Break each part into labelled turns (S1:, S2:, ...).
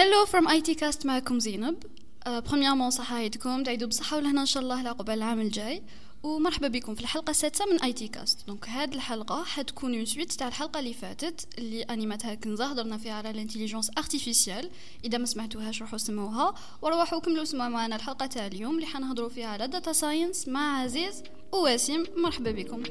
S1: Hello from ITcast معكم زينب. premièrement صحايدكم تعيدوا بصحة ولهنا إن شاء الله لعقبال العام الجاي ومرحبا بكم في الحلقة السادسة من ITcast. دونك هاد الحلقة حتكون اون سويت تاع الحلقة اللي فاتت اللي انيماتها كنزة هضرنا فيها على الانتيليجنس ارتيفيسيال. إذا ما سمعتوهاش روحوا سمعوها وروحوا كملوا سمعوا معنا الحلقة تاع اليوم اللي حنهضروا فيها على داتا ساينس مع عزيز وواسم. مرحبا بكم.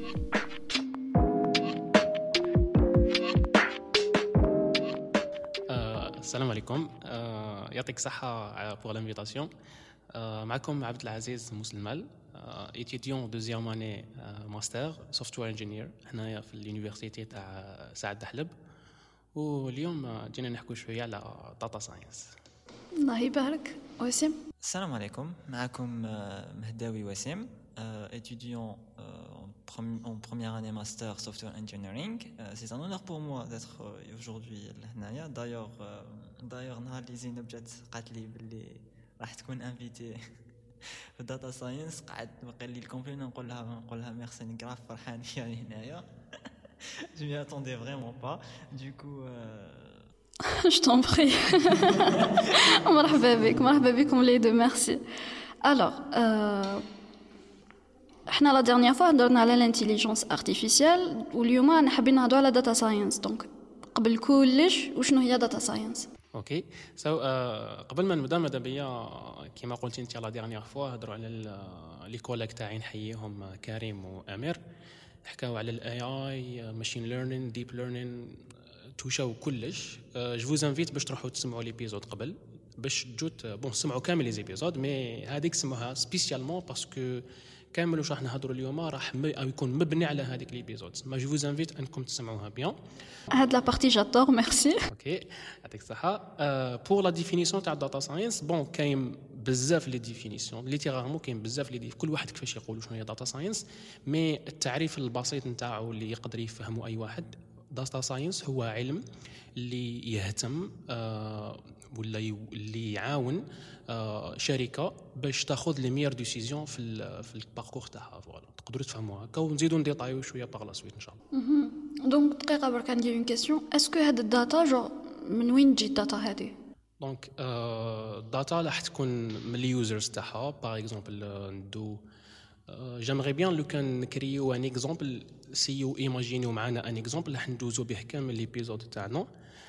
S2: السلام عليكم. يعطيك صحة pour l'invitation. معكم عبد العزيز مسلمال، étudiant deuxième année master software engineer هنايا في اليونيفرسيتي تاع سعد دحلب، واليوم جينا نحكوا شوية على data science.
S1: الله يبارك. واسم.
S3: السلام عليكم، معكم مهداوي واسم، étudiant en première année master software engineering. C'est un honneur pour moi d'être aujourd'hui là. D'ailleurs نهار اللي زينب جات قالت لي باللي راح تكون انفيتي في داتا ساينس، قعدت بقى لي الكومبلين نقول لها ميرسي نكراف فرحان يعني هنايا. Je m'y attendais vraiment pas. Du coup
S1: Je t'en prie. مرحبا بكم les deux, merci. Alors احنا لا ديرنيير فوا هضرنا على الانتيليجنس ارتيفيسيال واليوم حابين نهضروا على داتا ساينس. دونك قبل كلش وشنو هي داتا ساينس؟
S2: اوكي قبل ما نبدا ماذا بيا كيما قلتي انت لا ديرنيير فوا هضروا على لي كوليك تاعي نحييهم كريم وامير، حكاو على الاي اي ماشين ليرنين ديب ليرنين توشاو كلش. جو فوز انفيت باش تروحوا تسمعوا ليبيزود قبل باش تجوت بون سمعوا كامل لي زيبيزود، مي هذيك سموها سبيسيالمون باسكو كامل واش راح نهضروا اليوم راح يكون مبني على هذيك ليبيزود. ما جو فوز انفيت انكم تسمعوها بيان.
S1: هاد لا بارتي جادور ميرسي.
S2: اوكي يعطيك الصحه. بور لا ديفينيسيون تاع داتا ساينس، بون كاين بزاف لي ديفينيسيون ليتيرالمون، كاين بزاف لي كل واحد كيفاش يقولوا شنو هي داتا ساينس، مي التعريف البسيط نتاعو اللي يقدر يفهمه اي واحد، داتا ساينس هو علم اللي يهتم ولا اللي يعاون شركه باش تاخذ لي ميور ديسيزيون في الباركور تاعها. فوالا تقدروا تفهموها هكا ونزيدوا نديطايو شويه باغ لا سويت ان شاء الله.
S1: دونك دقيقه برك ندير اون كيسيون، اسكو هاد الداتا جو من وين تجي الداتا هذه؟
S2: دونك الداتا راح تكون من اليوزرز تاعها. باغ اكزومبل ندو j'aimerais bien لو كان نكريو ان اكزومبل سيو ايماجينيو معنا ان اكزومبل راح ندوزو به كامل ليبيزود تاعنا.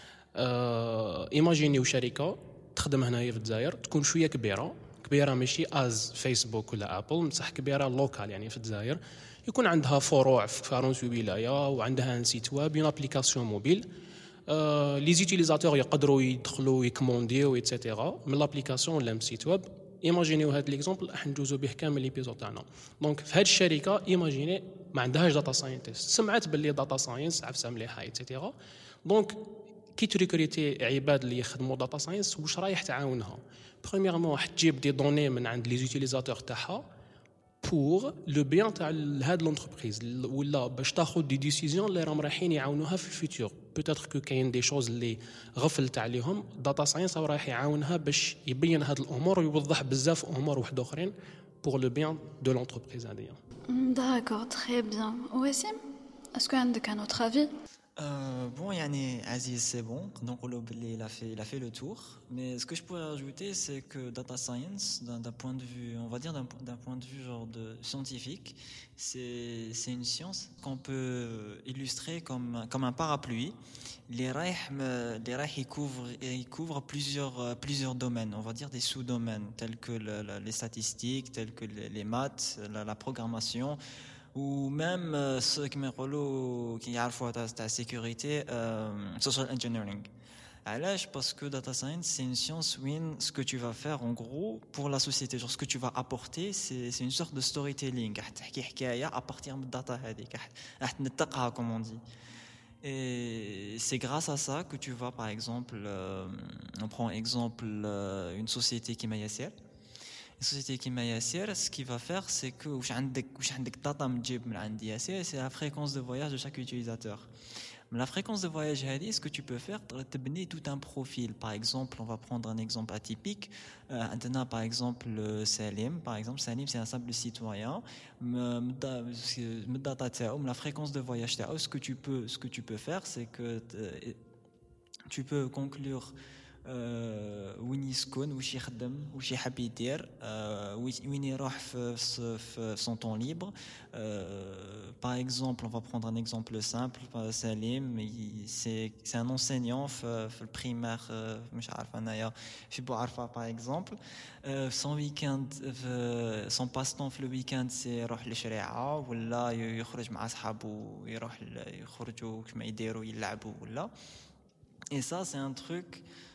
S2: ايماجينيو شركه تخدم هنايا في الجزائر، تكون شويه كبيره ماشي از فيسبوك ولا ابل، بصح كبيره لوكال يعني في الجزائر، يكون عندها فروع في فرنسا ولايه وعندها ان سيت ويب اون ابليكاسيون موبيل. لي زوتيليزاتور يقدروا يدخلوا يكومونديو ايتترا من لابليكاسيون ولا من سيت ويب. ايماجينيو هذا ليكزامبل راح ندوزو به كامل ليبيزود تاعنا. دونك في هذه الشركه ايماجيني ما عندهاش داتا ساينتست، سمعت باللي داتا ساينس عفسه مليحه ايتترا. دونك كي تريكريتي عباد اللي يخدموا داتا ساينس واش رايح تعاونها؟ بريميرمون راح تجيب دي دوني من عند لي زوتيليزاتور تاعها بور لو بيان تاع هاد لونتربريز، ولا باش تاخذ دي ديسيزيون اللي راهم رايحين يعاونوها في الفيتور. بوتيتر كو كاين دي شوز اللي غفلت عليهم، داتا ساينس رايح يعاونها باش يبين هاد الامور ويوضح بزاف امور واحد اخرين بور لو بيان دو لونتربريز هذه.
S1: داكور تري بيان. واسم اسكو عندك ان اوتر افي؟
S3: Bon, yani Aziz, c'est bon. Donc, il a fait le tour. Mais ce que je pourrais rajouter, c'est que data science, d'un point de vue, on va dire d'un point de vue genre de scientifique, c'est une science qu'on peut illustrer comme un parapluie. Les rayh ils couvrent plusieurs domaines, on va dire des sous-domaines tels que les statistiques, tels que les maths, la programmation, ou même ceux qui يعرفوا تاع sécurité, social engineering. علاش؟ parce que data science c'est une science où ce que tu vas faire en gros pour la société, genre ce que tu vas apporter, c'est une sorte de storytelling. راح تحكي حكايه à partir من الداتا هذيك، راح تنطقها comme on dit. Et c'est grâce à ça que tu vas, par exemple, on prend exemple une société qui est Yasser. Une société qui est Yasser, ce qu'il va faire, c'est que واش عندك data مجيب من عند Yasser, c'est la fréquence de voyage de chaque utilisateur. Mais la fréquence de voyage, ce que tu peux faire, tu peux tout un profil. Par exemple, on va prendre un exemple atypique. Par exemple, Salim. Par exemple, Salim, c'est un simple citoyen. La fréquence de voyage, ce que tu peux faire, c'est que tu peux conclure يسكن واش يخدم واش يحب يدير وين يروح في son temps libre. Par exemple, on va prendre un exemple simple. Salim, c'est un enseignant في البريمير مش عارفه انايا في بوعرفه par exemple. son week-end son passe-temps في الويكاند سي يروح للشريعه ولا يخرج مع اصحابه يخرجوا كما يديروا يلعبوا ولا. Et ça c'est un truc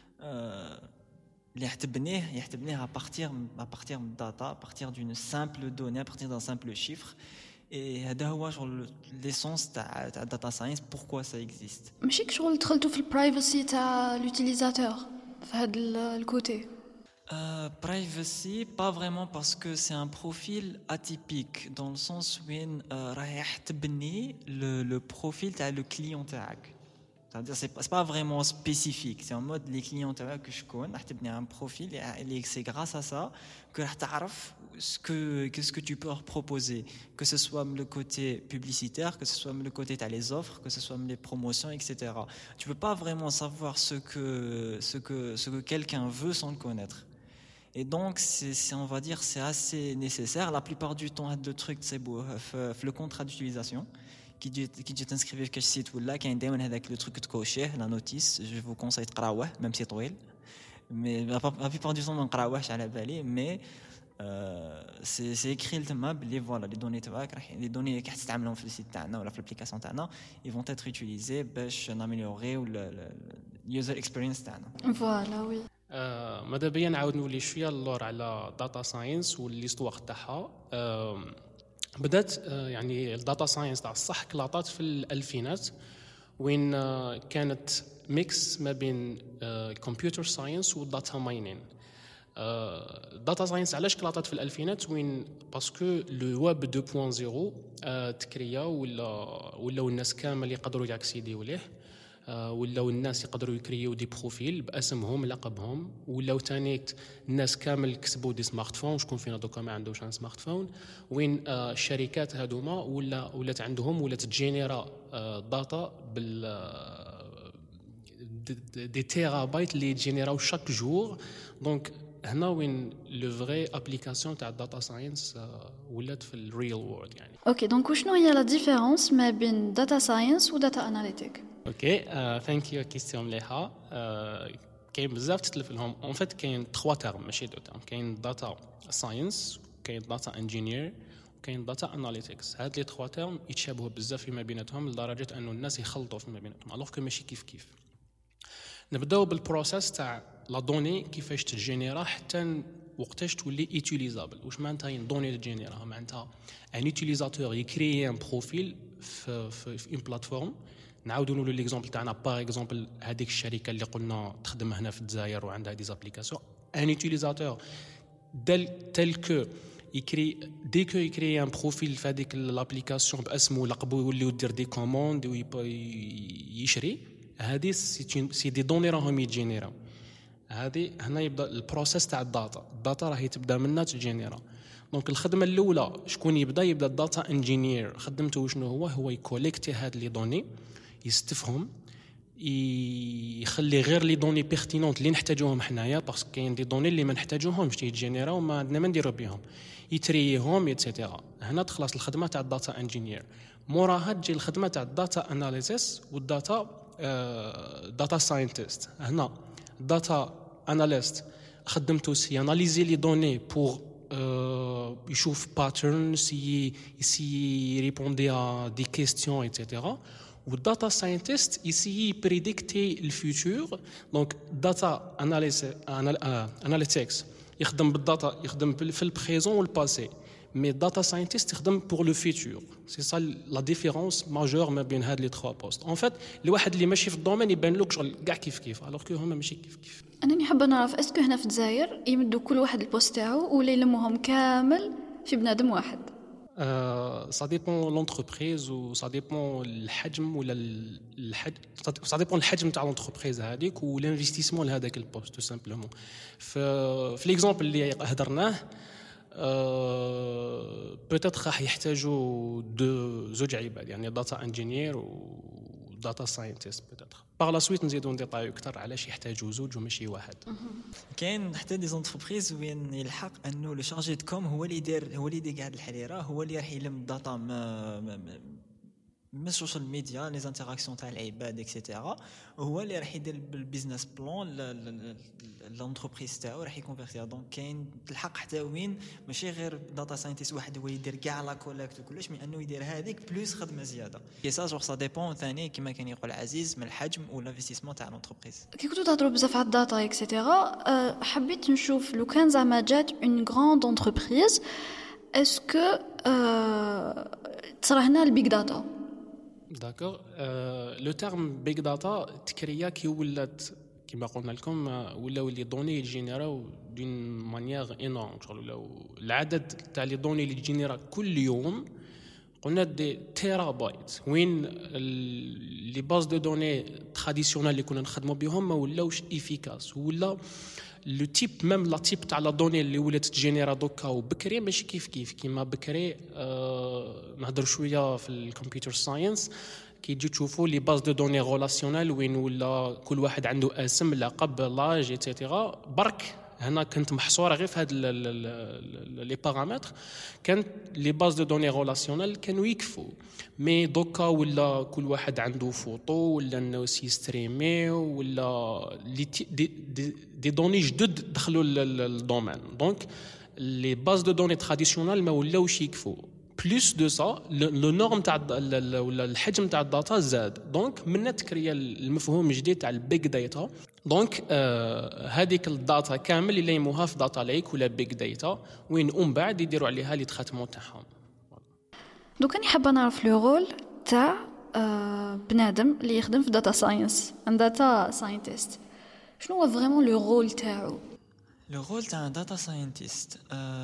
S3: اللي يحتبنيه à partir de data, à partir d'une simple donnée, à partir d'un simple chiffre. Et هذا هو l'essence تاع data science, pourquoi ça existe.
S1: ماشي شغل دخلتوا في البرايفسي تاع لوتيليزاتور في هذا الكوتي.
S3: Privacy, pas vraiment, parce que c'est un profil atypique dans le sens où راح يحتبني le profil تاع le client تاعك. C'est-à-dire c'est pas vraiment spécifique, c'est en mode les clients que je connais, راح تبني un profil et c'est grâce à ça que راح تعرف ce que tu peux leur proposer, que ce soit le côté publicitaire, que ce soit le côté t'as les offres, que ce soit les promotions, etc. Tu peux pas vraiment savoir ce que quelqu'un veut sans le connaître. Et donc c'est on va dire c'est assez nécessaire. La plupart du temps le truc c'est beau le contrat d'utilisation qui dit t'inscrire sur quel site ou là qui a دائما هذاك le truc تكوشيه la notice. Je vous conseille تقراوه même si طويل, mais la plupart du temps ما نقراوهش على بالي, mais c'est écrit تما بلي voilà les données تاعك les données اللي كتستعملهم في السيت تاعنا ولا في الابليكاسيون تاعنا ils vont être utilisés باش ناميليوريو اليوزر اكسبيرينس تاعنا.
S1: فوالا وي.
S2: ماذا بيا نعاود نولي شويه اللور على داتا ساينس والليستواغ تاعها. بدات يعني الداتا ساينس تاع الصح كلاطات في الألفينات وين كانت ميكس ما بين كمبيوتر ساينس والداتا ماينين. داتا ساينس علاش كلاطات في الألفينات وين باسكو لو ويب 2.0 تكريا ولاو الناس كامل يقدروا ياكسيديو ليه, ولاو الناس يقدروا يكريو دي بروفيل باسمهم لقبهم, ولاو تاني الناس كامل كسبوا دي سمارت فون. شكون فينا دوكا ما عندوش ان سمارت فون, وين الشركات هذوما ولات عندهم ولات تجينيرا داتا بال دي تيرابايت اللي يجينيراو شاك جور. دونك هنا وين لو فري ابليكاسيون تاع الداتا ساينس ولات في الريل وورلد يعني.
S1: اوكي دونك شنو هي لا ديفيرونس ما بين داتا ساينس وداتا اناليتيك؟
S2: اوكي ثانك يو كيستيون مليحه. كاين بزاف تتلف لهم اون فيت. كاين 3 تيرم ماشي 2 تيرم. كاين داتا ساينس, كاين داتا انجينير, وكاين داتا اناليتكس. هاد لي 3 تيرم يتشابهوا بزاف فيما بيناتهم لدرجه انه الناس يخلطوا فيما بيناتهم الوغ كو ماشي كيف. نبداو بالبروسيس تاع لا دوني كيفاش تجينيرا حتى وقتاش تولي يوتيليزابل. واش معناتها دوني تجينيرا؟ معناتها ان يوتيليزاتور يكريي ان بروفيل في اون بلاتفورم. نعاودوا نقولوا ليكزامبل تاعنا باغ اكزومبل هذيك الشركه اللي قلنا تخدم هنا في الجزائر وعندها دي زابليكاسيون. ان يوتيليزاتور تل كو يكري دي كو يكري ان بروفيل في هذيك لابليكاسيون باسمه ولقبه يولي يدير دي كوموند ويشري. هذه سي دي دوني راهم يتجينيراو. هذه هنا يبدا البروسيس تاع الداتا راهي تبدا منها تجينيرا. دونك الخدمه الاولى شكون يبدا الداتا انجينير. خدمته شنو هو يكوليكتي هاد لي دوني, يستفهم, يخلي غير لي دوني بيرتينونت اللي نحتاجوهم حنايا باسكو كاين دي دوني اللي ما نحتاجوهمش تيجينيراو ما عندنا ما نديرو بهم, يتريهم ايتترا. هنا تخلص الخدمه تاع الداتا انجينير. موراها تجي الخدمه تاع الداتا اناليسيس والداتا داتا ساينتست. هنا داتا اناليست خدمته سي اناليزي لي دوني بور يشوف باترنز, يسي ريبوندي ا دي كيستيون ايتترا. والداتا ساينتست يسي بريديكتي الفيوتور. دونك داتا اناليتكس يخدم بالداتا, يخدم في البريزون والباسي, مي داتا ساينتست يخدم بور لو فيوتور. سي سا لا ديفيرونس ماجور ما بين هاد لي 3 بوست. اون فيت الواحد اللي ماشي في الدومين يبان له شغل كاع كيف الوغ كو هما ماشي كيف.
S1: انا حابه نعرف اسكو هنا في الجزائر يمدوا كل واحد البوست تاعو ولا يلموهم كامل في بنادم واحد؟
S2: ça dépend l'entreprise ou ça dépend الحجم ولا ça dépend الحجم تاع l'entreprise هذيك والانفستيسمون لهذاك البوست تو سامبلومون. في ليكزامبل اللي هضرناه بوتيتر راح يحتاجوا زوج عباد, يعني داتا انجينير و داتا ساينتست بيتاتر. باغ لا سويت نزيدو نديطايو اكثر علاش يحتاجوا زوج وماشي واحد.
S3: كاين حتى دي زونتربريز وين يلحق انه لو شارجي دو كوم هو اللي يدير قاعد الحريره، هو اللي راح يلم الداتا من السوشيال ميديا لي زانتراكسيون تاع العباد اكسيتيرا، وهو اللي راح يدير بالبيزنس بلان لونتربريز تاعو راح يكونفيرتيها. دونك كاين تلحق حتى وين ماشي غير داتا ساينتيست واحد هو يدير كاع لا كوليكت وكلش، من انه يدير هذيك بلوس خدمه زياده. كي سا جور سا ديبون ثاني كما كان يقول عزيز من الحجم والانفستيسمون تاع لونتربريز.
S1: كي كنتو تهضروا بزاف على الداتا اكسيتيرا، حبيت نشوف لو كان زعما جات اون غراند انتربريز اسكو تصرا هنا البيج داتا.
S2: داكور. لو تيرم بيج داتا تكريا كي ولات كما قلنا لكم ولاو لي دوني جينيراو دون مانيير انورم، ولاو العدد تاع لي دوني اللي جينيرا كل يوم قلنا دي تيرا بايت، وين لي باز دو دوني تراديسيونال اللي كنا نخدموا بهم ما ولاوش افيكاس، ولا لو تيب ميم لا تيب تاع لا دوني اللي ولات تجينيرا دوكا وبكري ماشي كيف كيما بكري. نهضر شويه في الكمبيوتر ساينس كي تجي تشوفوا لي باز دو دوني ريلاسيونيل وين ولا كل واحد عنده اسم لقب لاج ايتترا. برك هنا كنت محصوره غير في هاد لي بارامتر، كانت لي باز دو دوني ريلاسيونيل كانوا يكفوا. مي دوكا ولا كل واحد عنده فوتو ولا انه سيستريمي ولا دي دوني جدد دخلوا للدومين. دونك لي باز دو دوني تراديسيونيل ما ولاوش يكفوا. بلوس دو سا لو نورم تاع ولا الحجم تاع الداتا زاد، دونك من تكريا المفهوم الجديد تاع البيج داتا. دونك هذيك الداتا كامل اللي يموها في داتا ليك ولا بيج داتا، وين بعد يديروا عليها لي تريتمون تاعهم.
S1: دوك انا حابه نعرف لو رول تاع بنادم اللي يخدم في داتا ساينس، ان داتا ساينتست. شنو هو فريمون لو رول تاعو؟
S3: لو رول تاع ان داتا ساينتست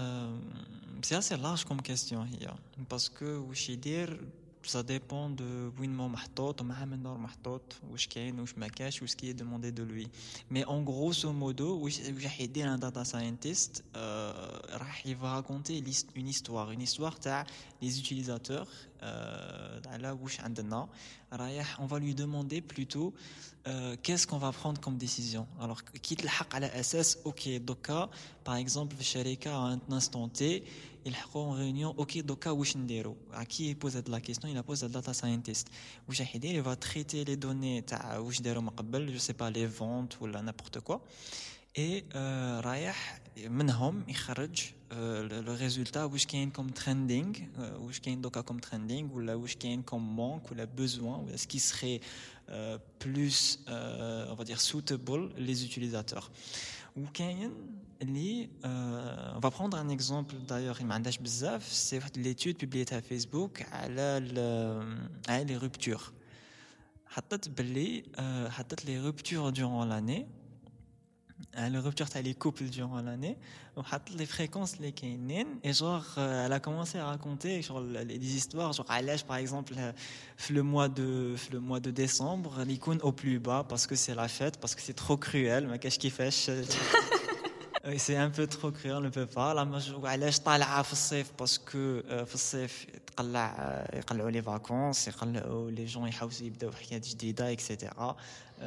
S3: سي assez large comme question هي، باسكو واش يدير ça dépend de وين ما محطوط ومع من نور محطوط واش كاين واش ما كاش واش كي demandé de lui. mais en grosso modo واش راح يدير un data scientist راح يراكونتي une histoire تاع les utilisateurs على واش عندنا رايح. on va lui demander plutôt qu'est-ce qu'on va prendre comme décision. alors كي تلحق على اساس اوكي دوكا par exemple في الشركه à un instant T يلحقوا en réunion اوكي دوكا واش نديرو. كي pose la question il pose le data scientist واش راح يدير. il va traiter les données تاع واش داروا من قبل je sais pas les ventes ولا n'importe quoi et رايح منهم يخرج le résultat واش كاين comme trending واش كاين دوكا comme trending ولا واش كاين comme manque ولا besoin ou ce qui serait plus on va dire suitable les utilisateurs. ou كاين اللي on va prendre un exemple d'ailleurs il m'andage بزاف c'est l'étude publiée à Facebook على les ruptures. حطت les ruptures durant l'année les ruptures تاع les couples durant l'année وحط les fréquences اللي كاينين et genre elle a commencé à raconter genre des histoires genre علاش par exemple le mois de décembre il يكون au plus bas parce que c'est la fête parce que c'est trop cruel ما كاش كيفاش c'est un peu trop cruel on ne peut pas. علاش طالعه في الصيف باسكو في الصيف يقلعوا لي فاكونس يقلعوا لي جون يحاولوا يبداو حياه جديده اكسيتيرا.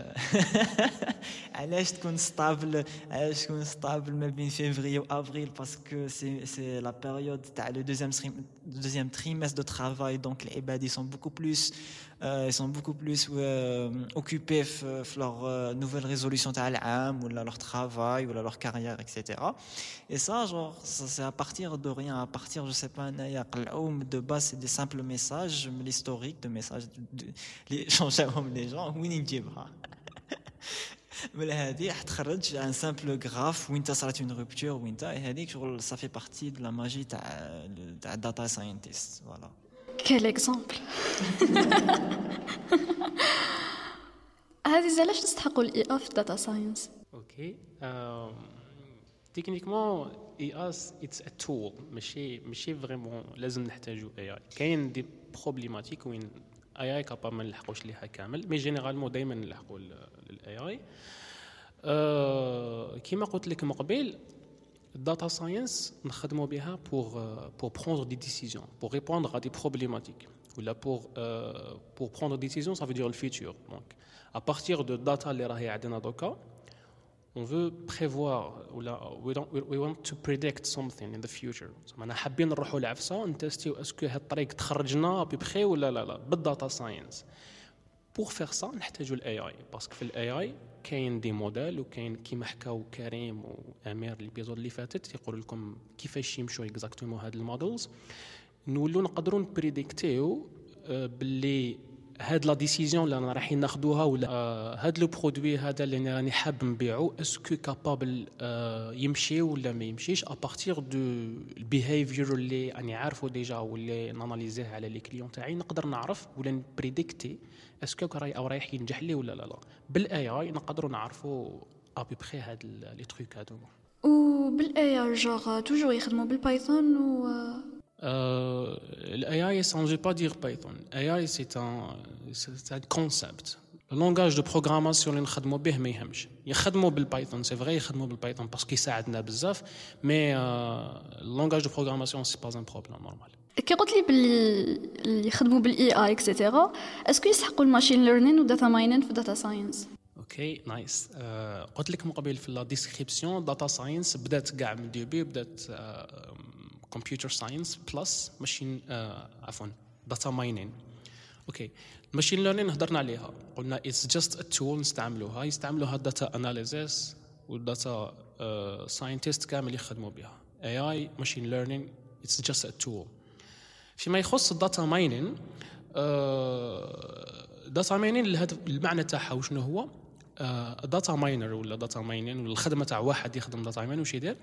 S3: علاش تكون ستابل ما بين فيفري وابريل باسكو سي لا بيريود تاع لو دوزيام تريمestre de travail donc les عباد ils sont beaucoup plus occupés في leur nouvelle résolution تاع العام ولا leur travail ولا leur carrière etc. et ça genre c'est à partir de rien à partir je sais pas انايا قلعوا de base c'est des simples messages l'historique de messages les changeaهم les gens وين نجيبها من هذه تخرج ان سامبل غراف وين صارت اون روبتور وين هذيك شغل صافي بارتي دو لا ماجي تاع داتا ساينتيست. فوالا
S1: كيل اكزامبل. هذه علاش تستحقوا الاي اف في داتا ساينس؟
S2: اوكي تكنيكمون اي اس اتس ا تول ماشي فريمون لازم نحتاجو اي اي. كاين دي بروبليماتيك وين اي كابا ما نلحقوش ليها كامل مي جينيرالمون دائما نلحقوا للاي اي. كيما قلت لك من قبل الداتا ساينس نخدموا بها pour prendre des décisions, pour répondre à des problématiques ou là pour prendre des décisions, ça veut dire le futur. Donc à partir de data اللي راهي عندنا دوكا on veut prévoir ou là we want to predict something in the future. زعما حابين نروحوا لعفسه نتستيو اسكو هاد الطريق تخرجنا ببخي ولا لا بالداتا ساينس. pour faire ça نحتاجوا الاي اي باسكو في الاي اي كاين دي موديل وكاين كيما حكاو كريم وامير الابيزود اللي فاتت يقول لكم كيفاش يمشوا اكزاكتومون هاد المودلز نولوا نقدروا نبريديكتيو باللي هاد لا ديسيزيون اللي انا رايحين ناخذوها ولا هاد لو برودوي هذا اللي راني حاب نبيعو اسكو كابابل يمشي ولا ما يمشيش ابارتير دو البيهيفير اللي راني عارفه ديجا واللي ناناليزيه على لي كليون تاعي نقدر نعرف ولا نبريديكتي اسكو رايح ينجح لي ولا لا. بالاي اي نقدروا نعرفوا ابي بخي هاد لي تروك هادو.
S1: وبالاي اي جوغ توجور يخدموا بالبايثون و
S2: l'AI, ça ne veut pas dire Python. AI, c'est un concept. Le langage de programmation اللي نخدموا به ما يهمش. يخدموا بالبايثون, c'est vrai, يخدموا بالبايثون parce يساعدنا بزاف, mais le langage de programmation c'est pas un problème normal.
S1: كي قلت لي باللي يخدموا بالاي اي اكسيتيرا اسكو يسحقوا الماشين ليرنين وداتا ماينين في داتا ساينس؟
S2: اوكي نايس. قلت لك من قبل في لا ديسكريبسيون داتا ساينس بدات كاع من ديبي بدات computer science plus machine عفوا data mining. اوكي machine learning هضرنا عليها قلنا it's just a tool نستعملوها يستعملوها data analysis و data scientist كامل يخدموا بها. AI machine learning it's just a tool. فيما يخص data mining data mining المعنى تاعها وشنو هو data miner ولا data mining ولا الخدمه تاع واحد يخدم data mining وش يدير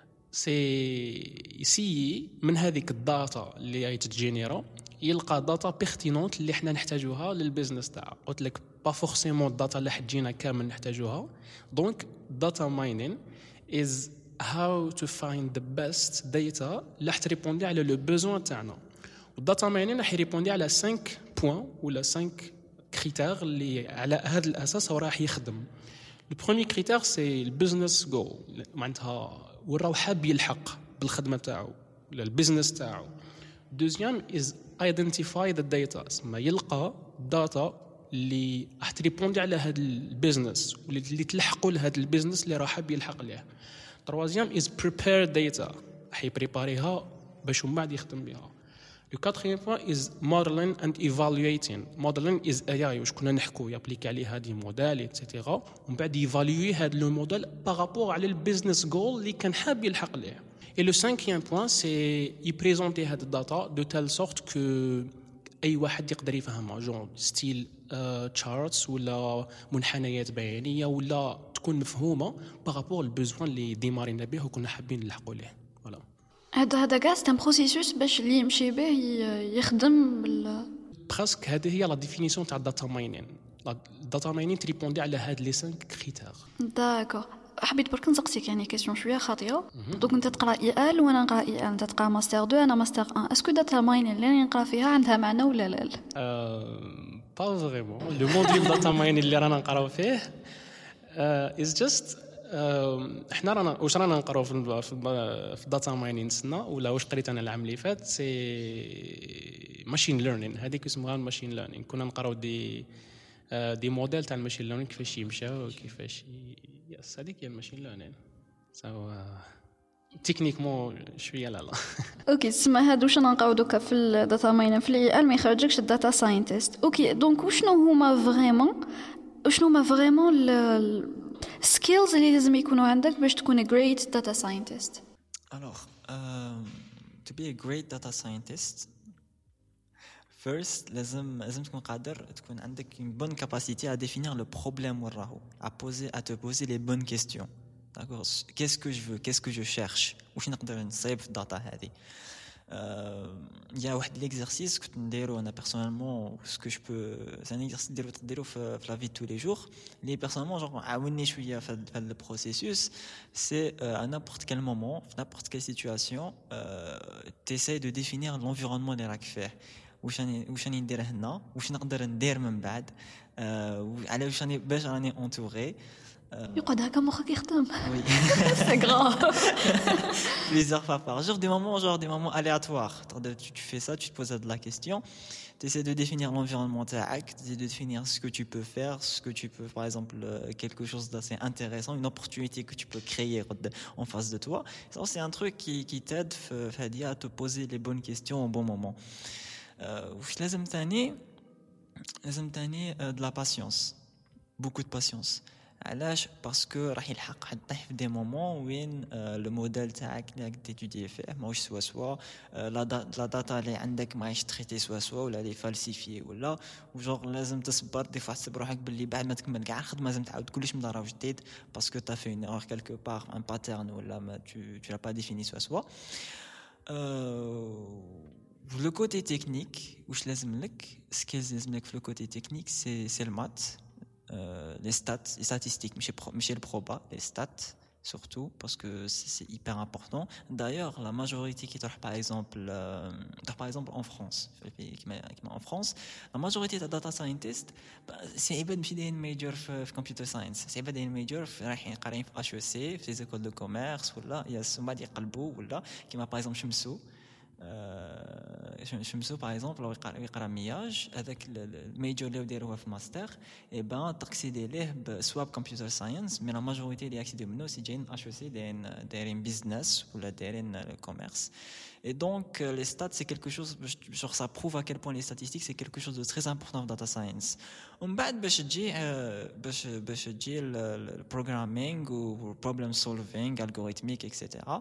S2: سي يسيي من هذيك الداتا اللي هي تتجينيرا يلقى داتا بيرتينونت اللي احنا نحتاجوها للبيزنس تاعنا. قلت لك با فورسيمون الداتا اللي حتجينا كامل نحتاجوها. دونك داتا ماينين از هاو تو فايند ذا بيست داتا اللي حتريبوندي على لو بوزوان تاعنا. والداتا ماينين راح يريبوندي على 5 بوين ولا 5 كريتير اللي على هذا الاساس هو راح يخدم. لو بروميير كريتير سي البيزنس جول معناتها وراو حاب يلحق بالخدمه تاعو ولا البيزنس تاعو. دوزيام از ايدنتيفاي ذا داتا اسمها يلقى داتا اللي راح تريبوندي على هذا البيزنس واللي تلحقوا لهذا البيزنس اللي راه حاب يلحق ليه. تروازيام از بريبير داتا راح يبريباريها باش من بعد يخدم بها. لو كاتريام بوين از موديلين اند ايفالويتين. موديلين از اي اي واش كنا نحكوا يابليكي عليه هذه موديل ايتترا ومن بعد يفالوي هذا لو موديل بارابور على البيزنس جول اللي كان حاب يلحق ليه. Et le cinquième point, c'est y présenter هاد الداتا de telle sorte que أي واحد يقدر يفهمها جون ستيل تشارتس ولا منحنيات بيانية ولا تكون مفهومة بارابور البوزوان اللي ديمارينا به وكنا حابين نلحقوا ليه. فوالا
S1: هذا كاع سي ان بروسيسوس باش اللي يمشي به يخدم
S2: برسك. هذه هي لا ديفينيسيون تاع الداتا ماينين. الداتا ماينين تريبوندي على هاد لي 5 كريتير.
S1: داكور. حبيت برك نسقسيك يعني كيسيون شويه خاطئه. دونك انت تقرا اي ال وانا نقرا اي ال، انت تقرا ماستر 2 انا ماستر 1. اسكو داتا ماينين اللي راني نقرا فيها عندها معنى ولا لا؟
S2: با فريمون. لو موديل داتا ماينين اللي رانا نقراو فيه از جاست احنا رانا نقراو في داتا ماينين سنه ولا واش قريت انا العام اللي فات سي ماشين ليرنين. هذيك اسمها ماشين ليرنين. كنا نقراو دي موديل تاع الماشين ليرنين كيفاش يمشاو وكيفاش يس. هذيك هي الماشين ليرنين. سو تكنيكمون شويه لا
S1: اوكي. تسمى هادو واش نلقاو دوكا في الداتا ماينين في الاي ال ما يخرجكش الداتا ساينتست. اوكي دونك وشنو هما فريمون السكيلز اللي لازم يكونوا عندك باش تكون great data scientist؟
S3: Alors, to be a great data scientist, first لازم تكون قادر تكون عندك une bonne capacité à définir le problème وراهو, à te poser les bonnes questions. D'accord, qu'est-ce que je veux, qu'est-ce que je cherche, واش نقدر نصايب في الداتا هذه. Il y a واحد l'exercice que نديرو انا personnellement, ce que je peux, c'est un exercice نديرو في la vie de tous les jours, اللي personnellement genre عاوني شويه في هذا البروسيسوس. c'est à n'importe quel moment, في n'importe quelle situation, t'essayes de définir l'environnement اللي راك فيه. واش راني ندير هنا, واش نقدر ندير من بعد, على واش راني باش راني انتوري,
S1: يقعد هكا مخك يخدم.
S3: Oui.
S1: C'est grave.
S3: Plusieurs fois par jour, des moments aléatoires. Tu fais ça, tu te poses de la question, tu essaies de définir l'environnement TAC, tu essaies de définir ce que tu peux faire, ce que tu peux, par exemple, quelque chose d'assez intéressant, une opportunité que tu peux créer en face de toi. Ça, c'est un truc qui t'aide à te poser les bonnes questions au bon moment. لازم تاني de la patience, beaucoup de patience. علاش باسكو راح يلحق حد طيح في دي مومون وين لو موديل تاعك اللي راك تيتودي فيه ماهوش سوا لا داتا اللي عندك ماهيش تريتي سوا ولا لي فالسيفي ولا وجور لازم تصبر دي فوا تحسب روحك باللي بعد ما تكمل كاع الخدمه لازم تعاود كلش من دار جديد باسكو تا في اون ايرور كالكو بار ان باترن ولا ما tu l'as pas défini سوا le côté technique واش لازم لك سكيلز لازم لك في le côté technique c'est le maths. Les stats, les statistiques, mais le proba, les stats surtout parce que c'est hyper important. D'ailleurs, la majorité qui travaille par exemple en France, la majorité des data scientists, c'est une major في computer science, c'est une major رايحين قارين في HEC, في les écoles de commerce ولا il y a سما اللي يقلبوا ولا كيما par exemple شمسو باغ اكزومبل لو يقرا مياج هذاك الميجور اللي دايروها في الماستر اي بان تاكسيدي ليه سوا بكمبيوتر ساينس مي لا ماجوريتي اللي اكسيدي منو سي جايين اش او سي دايرين بيزنس ولا دايرين كوميرس et donc les stats c'est quelque chose genre ça prouve à quel point les statistiques c'est quelque chose de très important en data science ومن بعد باش تجي البروغرامينغ و problem solving algorithmique etc.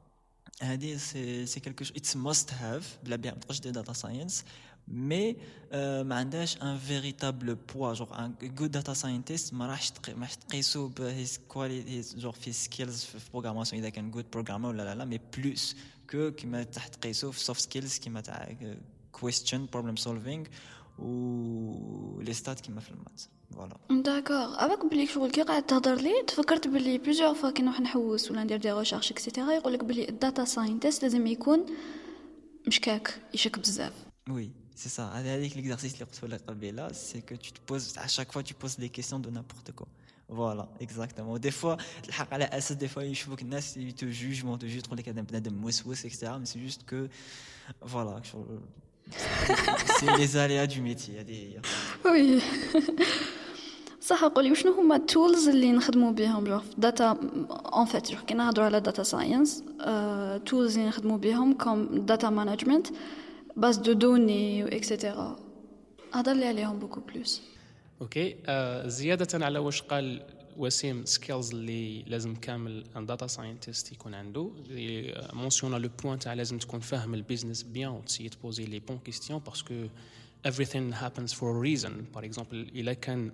S3: c'est quelque chose it's must have بلا بيان ما تقدرش دير data science mais ما عندهاش un véritable poids genre un good data scientist ما راحش تقيسو ب his quality genre في skills في programmation اذا كان good programmer ولا لا mais plus que كيما تحت تقيسو في soft skills كيما تاع question problem solving و les stats كيما في المات فوالا
S1: داكور افاك بلي شغل كي قاعد تهضر لي تفكرت بلي بليزيور فوا كي نروح نحوس ولا ندير دي ريشيرش اكسيتيرا يقول لك بلي الداتا ساينتست لازم يكون مشكاك يشك بزاف
S3: وي سي سا هذيك ليكزارسيس اللي قلت لك قبيله سي كو tu te poses à chaque fois tu poses des questions de n'importe quoi voilà exactement des fois الحق على اساس des fois يشوفوك الناس te jugent تقول لك هذا بنادم موسوس etc mais c'est juste que voilà c'est les aléas du métier هذه
S1: وي صح قولي وشنو هما التولز اللي نخدموا بهم جو داتا ان فيت كي نهضروا على داتا ساينس تولز اللي نخدموا بهم كوم داتا مانجمنت باز دو دوني اكسيتيرا هضر لي عليهم بوكو بلوس
S2: اوكي زياده على واش قال وسيم سكيلز اللي لازم كامل ان داتا ساينتست يكون عنده مونسيون لو بوين تاع لازم تكون فاهم البيزنس بيان وتسيي تبوزي لي بون كيستيون باسكو everything happens for a reason par exemple الا كان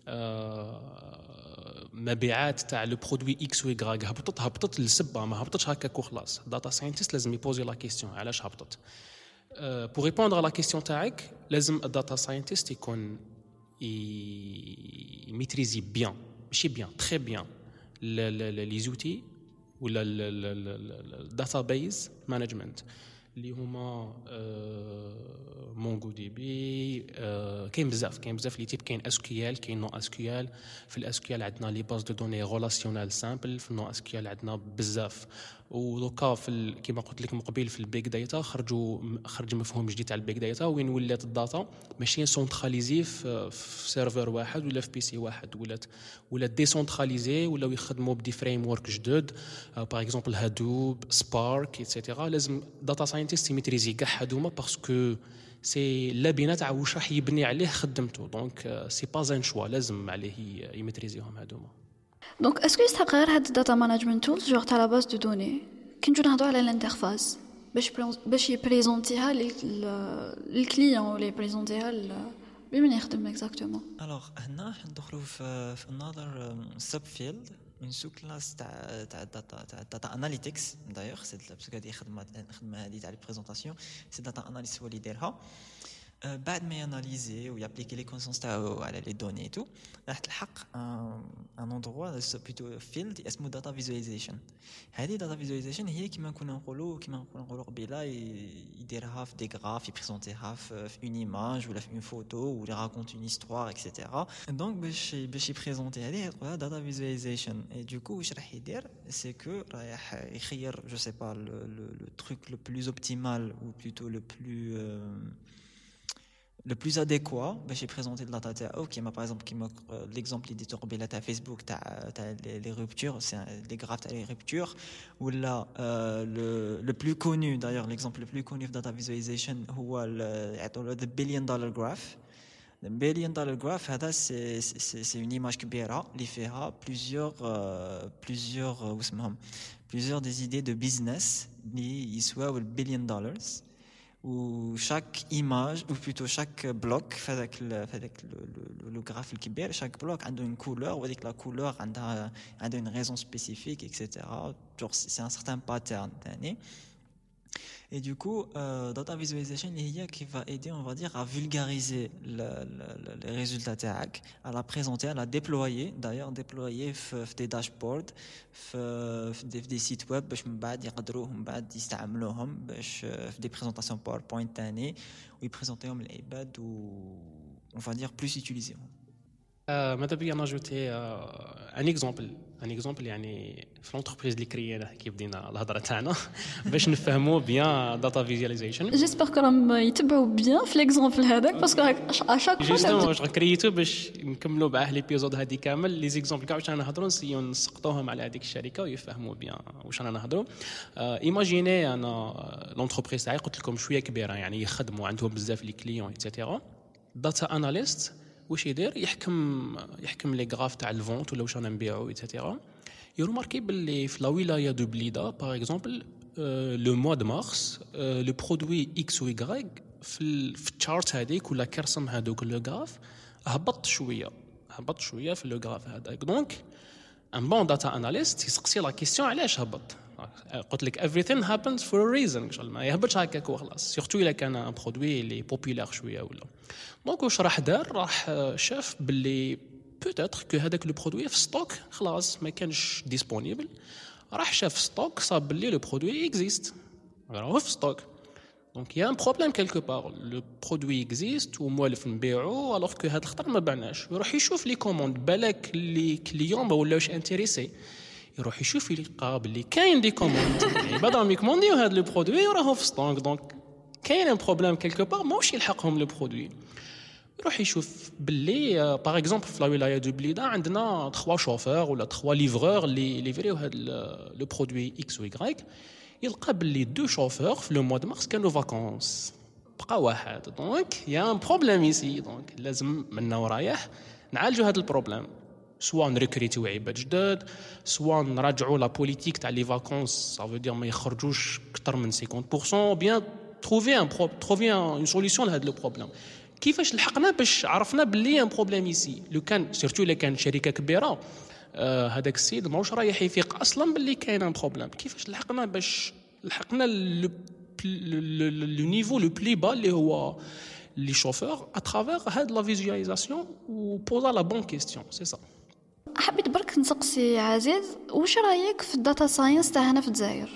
S2: مبيعات تاع لو برودوي اكس و يغراك هبطت للسبه ما هبطتش هكاك وخلاص داتا ساينتست لازم يبوزي لا كيستيون علاش هبطت pour répondre à la question تاعك لازم الداتا ساينتست يكون يميتريزي بيان ماشي بيان تري بيان لي زوتي ولا الداتا بيز مانجمنت اللي هما مونغو دي بي كاين بزاف لي تيب كاين اس كيو ال كاين نو اس كيو ال في الاس كيو ال عندنا لي باز دو دوني ريلاسيونيل سامبل في النو اس كيو ال عندنا بزاف ودوكا في كيما قلت لك من قبيل في البيج داتا خرج مفهوم جديد تاع البيج داتا وين ولات الداتا ماشي سونتراليزي في سيرفر واحد ولا في بي سي واحد ولات ديسونتراليزي ولاو يخدموا بدي فريم ورك جدد باغ اكزومبل هادوب سبارك ايتترا لازم داتا ساينتست يميتريزي كاع هادوما باسكو سي لابينه تاع واش راح يبني عليه خدمته دونك سي با ان شوا لازم عليه يميتريزيهم هادوما
S1: دونك اسكو يستحق غير هاد الداتا مانجمنت تولز جوغ تاع لا باز دو دوني كي نجو نهضروا على الانترفاس باش يبريزونتيها للكليون ولا يبريزونتيها بمن يخدم اكزاكتومون
S3: الوغ هنا ندخلوا في another سب فيلد من سو كلاس تاع داتا اناليتكس دايوغ سي باسكو هذه خدمه هذه تاع لي بريزونطاسيون سي داتا اناليست هو اللي يديرها بعد ما ياناليزي ويابليكي لي كونسونس تاعو على لي دوني اي تو راح تلحق ان اندروا بلوتو فيلد اسمه داتا فيزواليزيشن. هذه داتا فيزواليزيشن هي كيما نقولوا قبيله يديرها في دي غراف يبريزونتيها في اون ايماج ولا في اون فوتو ولا راكونت اون هيستوار اكسيتيرا. دونك باش يبريزونتي هذه يقولها داتا فيزواليزيشن. اي دوكو واش راح يدير سي كو رايح يخير جو سي با لو تروك لو بلوز اوبتيمال ou plutôt le plus adéquat باش يبريزونتي الداتا تاعو. كيما باغ اكزومبل كيما ليكزومبل اللي ديتو قبيله تاع فيسبوك تاع لي رuptures لي غراف تاع لي رuptures ولا لو بلو كونو دايوغ ليكزومبل لو بلو كونو في داتا فيزواليزيشن هو يعطوا ذا بليون دولار جراف. Le billion dollar graph هذا c'est une image كبيرة اللي فيها plusieurs des idées de business اللي يسواو البليون دولارز. و chaque image ou plutôt chaque bloc في هذاك لو غراف الكبير chaque bloc عنده une couleur وهذيك la couleur عندها une raison spécifique etc. genre c'est un certain pattern ثاني. Et du coup, data visualization qui va aider, on va dire, à vulgariser les résultats TAC, à la présenter, à la déployer. D'ailleurs, déployer des dashboards, des sites web, باش من بعد يقدروهم من بعد يستعملوهم باش في des présentations PowerPoint تاني ويبريزونتيهم للعباد on va dire plus utiliser.
S2: ماذا بيا ناجوتي ان اكزومبل يعني في لونتربريز اللي كرييناه كي بدينا الهضره تاعنا باش نفهموا بيان داتا فيزواليزيشن.
S1: جيسبر كراهم يتبعوا بيان في ليكزومبل هذاك باسكو اشاك
S2: جوستومون واش كرييتو باش نكملوا معاه ليبيزود هذه كامل لي زيكزومبل كاع واش رانا نهضروا نسيو نسقطوهم على هذيك الشركه ويفهموا بيان واش رانا نهضروا. ايماجيني انا لونتربريز تاعي قلت لكم شويه كبيره يعني يخدموا عندهم بزاف لي كليون ايتترا. داتا اناليست واش يدير يحكم لي غراف تاع الفونت ولا واش رانا نبيعوا ايتترا. يروماركي باللي في لا ولايه دو بليده باغ اكزومبل لو موا دو مارس لو برودوي اكس و واي في التشارت هذيك ولا كرسم هذوك لو غراف هبط شويه في لو غراف هذاك. دونك ان بون داتا اناليست يسقسي لا كيسيون علاش هبط. قلت لك everything happens for a reason ان شاء الله ما يهبطش هكاك وخلاص سورتو الا كان ان برودوي اللي بوبولار شويه ولا. دونك واش راح دار راح شاف باللي بوتيتر كو هذاك لو برودوي في ستوك خلاص ما كانش ديسپونيبل. راح شاف ستوك صاب باللي لو برودوي اكزيست راهو في ستوك. دونك يا ان بروبليم كيلكو بار لو برودوي اكزيست وموالف نبيعو الوغ كو هاد الخطر ما بعناش. يروح يشوف لي كوموند بالك لي كليون ما ولاوش انتريسي يروح يشوف يلقى باللي كاين دي كوموند يعني بداو يكومونديو هاد لو برودوي وراهو في ستوك. دونك كاين ان بروبليم كيلكو بار ماهوش يلحقهم لو برودوي. يروح يشوف باللي باغ اكزومبل في لا ولايه دو بليده عندنا 3 شوفور ولا 3 ليفرور اللي ليفريو هاد لو برودوي اكس و واي. يلقى باللي 2 شوفور في لو موا دو مارس كانوا فاكونس بقى واحد. دونك يا ان بروبليم ايسي. دونك لازم منا ورايح نعالجوا هاد البروبليم سواء نريكريتيو عباد جداد سواء نراجعوا لا بوليتيك تاع لي فاكونس سافو دير ما يخرجوش اكثر من 50% بيان تروفي ان سوليسيون لهذا لو بروبليم. كيفاش لحقنا باش عرفنا باللي ان بروبليم ايسي لو كان سيرتو الا كان شركه كبيره هذاك السيد ماهوش رايح يفيق اصلا باللي كاين ان بروبليم. كيفاش لحقنا باش لحقنا لو نيفو لو بلي با اللي هو لي شوفور اترافير هاد لا فيزواليزاسيون و بوزا لا بون كيستيون سي سا.
S1: حبيت برك نسقسي عزيز واش رايك في الداتا ساينس تاع هنا في الجزائر؟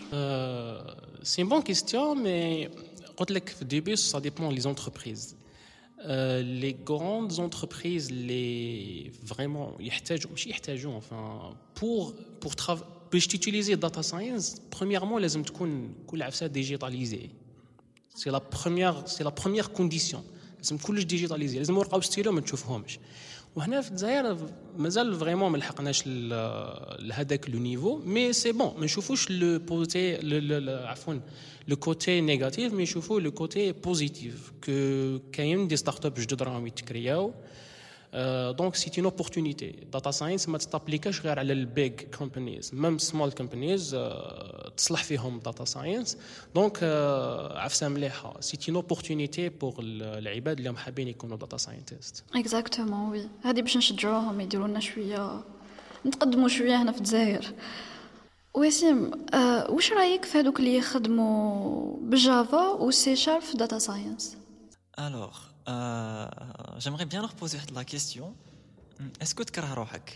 S2: سي بون كيستيون مي قلت لك في الديبي سا ديبون لي زونتربريز. Les grandes entreprises les vraiment يحتاجوا enfin pour باش تutiliser data science premièrement لازم تكون كل عفسه ديجيتاليزي. c'est la première condition. لازم كلش ديجيتاليزي. لازم ورقه وستيلو ما تشوفهمش. وهنا في الجزائر مازال فريمون ما لحقناش لهذاك لو نيفو مي سي بون ما نشوفوش لو بوتي عفوا لو كوتي نيجاتيف مي نشوفوا لو كوتي بوزيتيف كو كاين دي ستارت اب جدد راهم يتكرياو. دونك سي اون اوبورتونيتي. داتا ساينس ما تطابليكاش غير على البيج كومبانيز ميم سمول كومبانيز تصلح فيهم داتا ساينس. دونك عفسه مليحه سي اون اوبورتونيتي بور العباد اللي حابين يكونوا داتا ساينتست.
S1: اكزاكتومون وي هذه باش نشجعوهم يديروا لنا شويه نتقدموا شويه هنا في الجزائر. وسيم واش رايك في هذوك اللي يخدموا بالجافا و سي شارب في داتا ساينس؟
S3: Alors j'aimerais bien leur poser la question. Est-ce que tu كره روحك?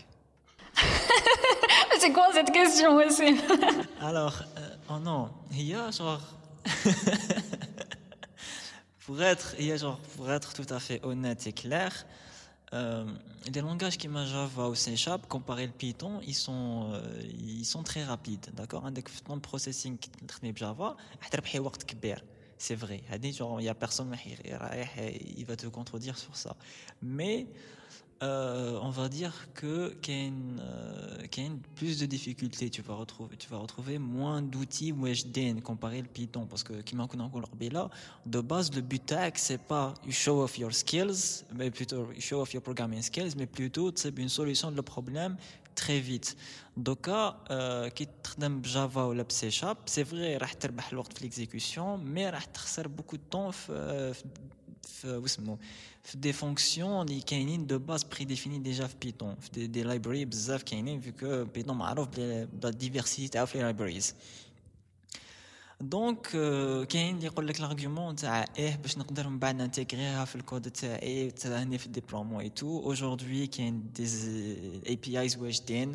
S1: C'est quoi cette question, Wassim?
S3: Alors, oh non, il y a genre pour être tout à fait honnête et clair, les langages qui m'a Java ou C#, comparé le Python, ils sont très rapides, d'accord? عندك في le processing qui تخدمي بجافا حتربحي وقت كبير. C'est vrai, il y a personne qui va te contredire sur ça. Mais on va dire que qu'il y a plus de difficultés. Tu vas retrouver moins d'outils واجدين comparé le Python, parce que كما كنا نقول قبيله, de base le but تاعك c'est pas you show off your skills, mais plutôt you show off your programming skills, mais plutôt c'est une solution de problème très vite. Donc كي تخدم بجافا ولا بسي شارب, c'est vrai راح تربح الوقت في l'exécution, mais راح تخسر beaucoup de temps في des fonctions اللي كاينين de base prédéfinies déjà في Python, في des libraries بزاف كاينين, vu que Python معروف بلا diversité تاعو في libraries. دونك كاين اللي يقول لك l'argument تاع باش نقدر من بعد نانتيغريها في الكود تاعي تساعدني في الديبلومون اي تو. aujourd'hui كاين des APIs واجدين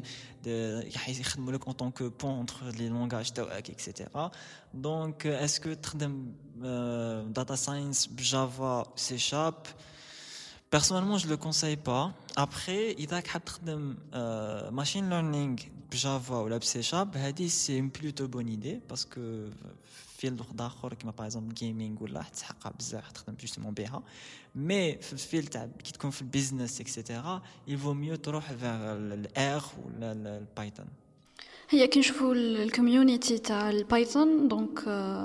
S3: يخدموا لك en tant que pont entre les langages تاعك etc. donc est-ce que تخدم data science بجافا C#? Personnellement, je le conseille pas. Après, إذا حاب تخدم machine learning بجافا ولا بسي شارب, هذه c'est une plutôt bonne idée, parce que فيلد اخر كما باغ اكزومبل جيمنج ولا تحقق بزاف تخدم جوستومون بها. مي في الفيلد تاع كي تكون في البيزنس اكسيتيرا il vaut mieux تروح vers الار ولا البايثون.
S1: هي كي نشوفوا الكوميونيتي تاع البايثون دونك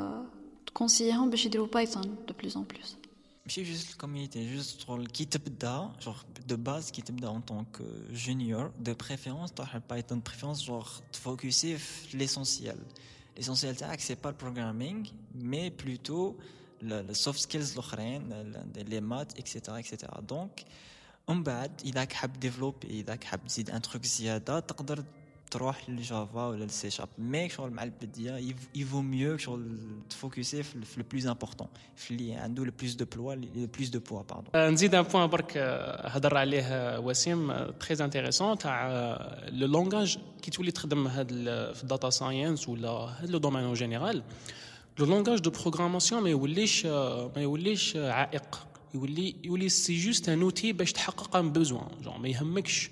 S1: تكونسييهم باش يديروا بايثون دو بلوس ان بلوس.
S3: ماشي جوست الكوميونيتي, جوست كي تبدا جور دو باز, كي تبدا en tant que junior, de préférence تروح البايثون, de préférence genre تفوكسي في l'essentiel. L'essentiel تاعك c'est pas le programming, mais plutôt le soft skills الاخرين, les maths etc. donc من بعد اذا حاب ديفلوبي, اذا حاب تزيد ان تروك زياده, تقدر تروح للجافا ولا السي شارب. مي شغل مع البدايه يفو ميو شغل تفوكسي في لو بلوس امبورطون, في اللي عنده لو بلوس دو بلوا, لو بلوس دو بوا باردون.
S2: نزيد ان بوين برك هضر عليه وسيم تري انتريسون تاع لو لونغاج كي تولي تخدم هاد في الداتا ساينس ولا هاد لو دومين اون جينيرال. لو لونغاج دو بروغراماسيون ما يوليش عائق, يولي سي جوست ان اوتي باش تحقق ان بوزوان. جون ما يهمكش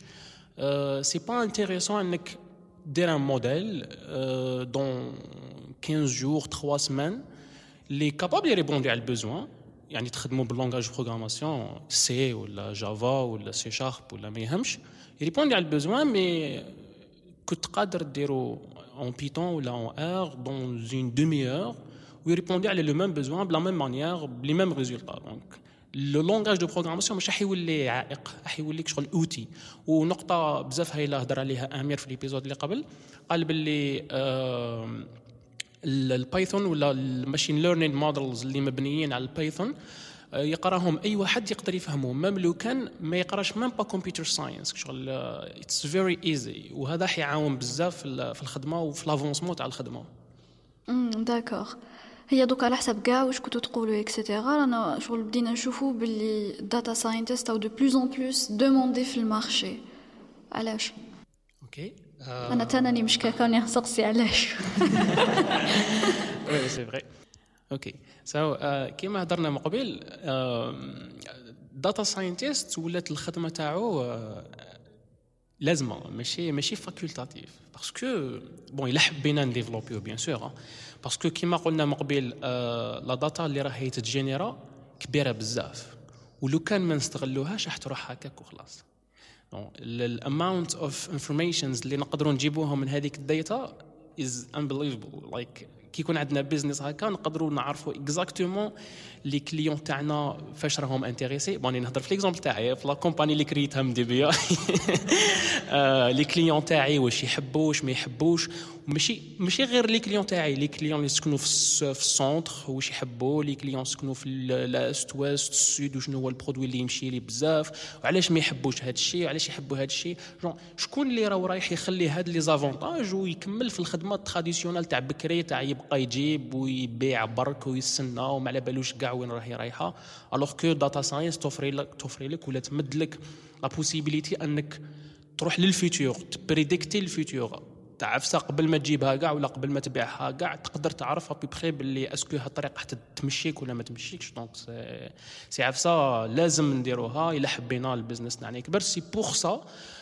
S2: سي با انتريسون انك دير ان موديل دون 15 جور 3 سمان اللي كابابل يريبوندي على البوزوان. يعني تخدموا باللونغاج بروغراماسيون سي ولا جافا ولا سي شارب ولا ما يهمش, يريبوندي على البوزوان, مي كنت قادر ديرو en Python ولا en R dans une demi-heure ويريبوندي على لو ميم بوزوان بلا ميم مانيير بلي ميم ريزولتا. دونك لو لونغاج دو بروغراماسيون مش راح يولي عائق, راح يوليك شغل اوتي. ونقطه بزاف هايله هضر عليها امير في الابيزود اللي قبل, قال باللي البايثون ولا الماشين ليرنينج مودلز اللي مبنيين على البايثون يقراهم اي واحد يقدر يفهمهم, ميم لو كان ما يقراش ميم با كمبيوتر ساينس. شغل اتس فيري ايزي, وهذا حيعاون بزاف في الخدمه وفي لافونسمون تاع الخدمه.
S1: داكوغ. هي دوك على حسب كاع واش كنتو تقولوا اكسيتيرا, رانا شغل بدينا نشوفوا باللي داتا ساينتست او دو بلوس ان بلوس دوموندي في المارشي. علاش؟
S2: اوكي
S1: انا تاني مش كاني نسقسي علاش.
S2: وي سي فري. اوكي سو كيما هضرنا من قبل, داتا ساينتست ولات الخدمه تاعو لازمه, ماشي فاكولتاتيف, باسكو بون الا حبينا نديفلوبيو بيان سور, باسكو كيما قلنا من قبل لا داتا اللي راهي تتجينيرا كبيره بزاف, ولو كان ما نستغلوهاش راح تروح هكاك وخلاص. الاماونت اوف انفورميشنز اللي نقدروا نجيبوهم من هذيك الداتا از unbelievable. لايك كي يكون عندنا بيزنس هكا نقدروا نعرفوا اكزاكتومون لي كليون تاعنا فاش راهم انتريسي. بوني نهضر في ليكزامبل تاعي في لا كومباني اللي كريتها من ديبيا. لي كليون تاعي واش يحبوا واش ما يحبوش, ماشي غير لي كليون تاعي، لي كليون اللي يسكنوا في السونتر واش يحبوا، لي كليون يسكنوا في الاست ويست السود وشنو هو البرودوي اللي يمشي لي بزاف وعلاش ما يحبوش هذا الشيء وعلاش يحبوا هذا الشيء. شكون اللي رايح يخلي هاد لي زافونتاج ويكمل في الخدمه التراديسيونال تاع بكري تاع يبقى يجيب ويبيع برك ويستنى وما على بالوش كاع وين راهي رايحه. الوغ كو داتا ساينس توفري لك ولا تمد لك لا بوسيبيليتي انك تروح للفيتور، تبريديكتي الفيتور، تعرف قبل ما تجيبها كاع ولا قبل ما تبيعها كاع تقدر تعرف ابي بخي باللي اسكو هالطريقه حتى تمشيك ولا ما تمشيكش. دونك سي عفسه لازم نديروها الا حبينا البزنس تاعنا يكبر. سي بور سا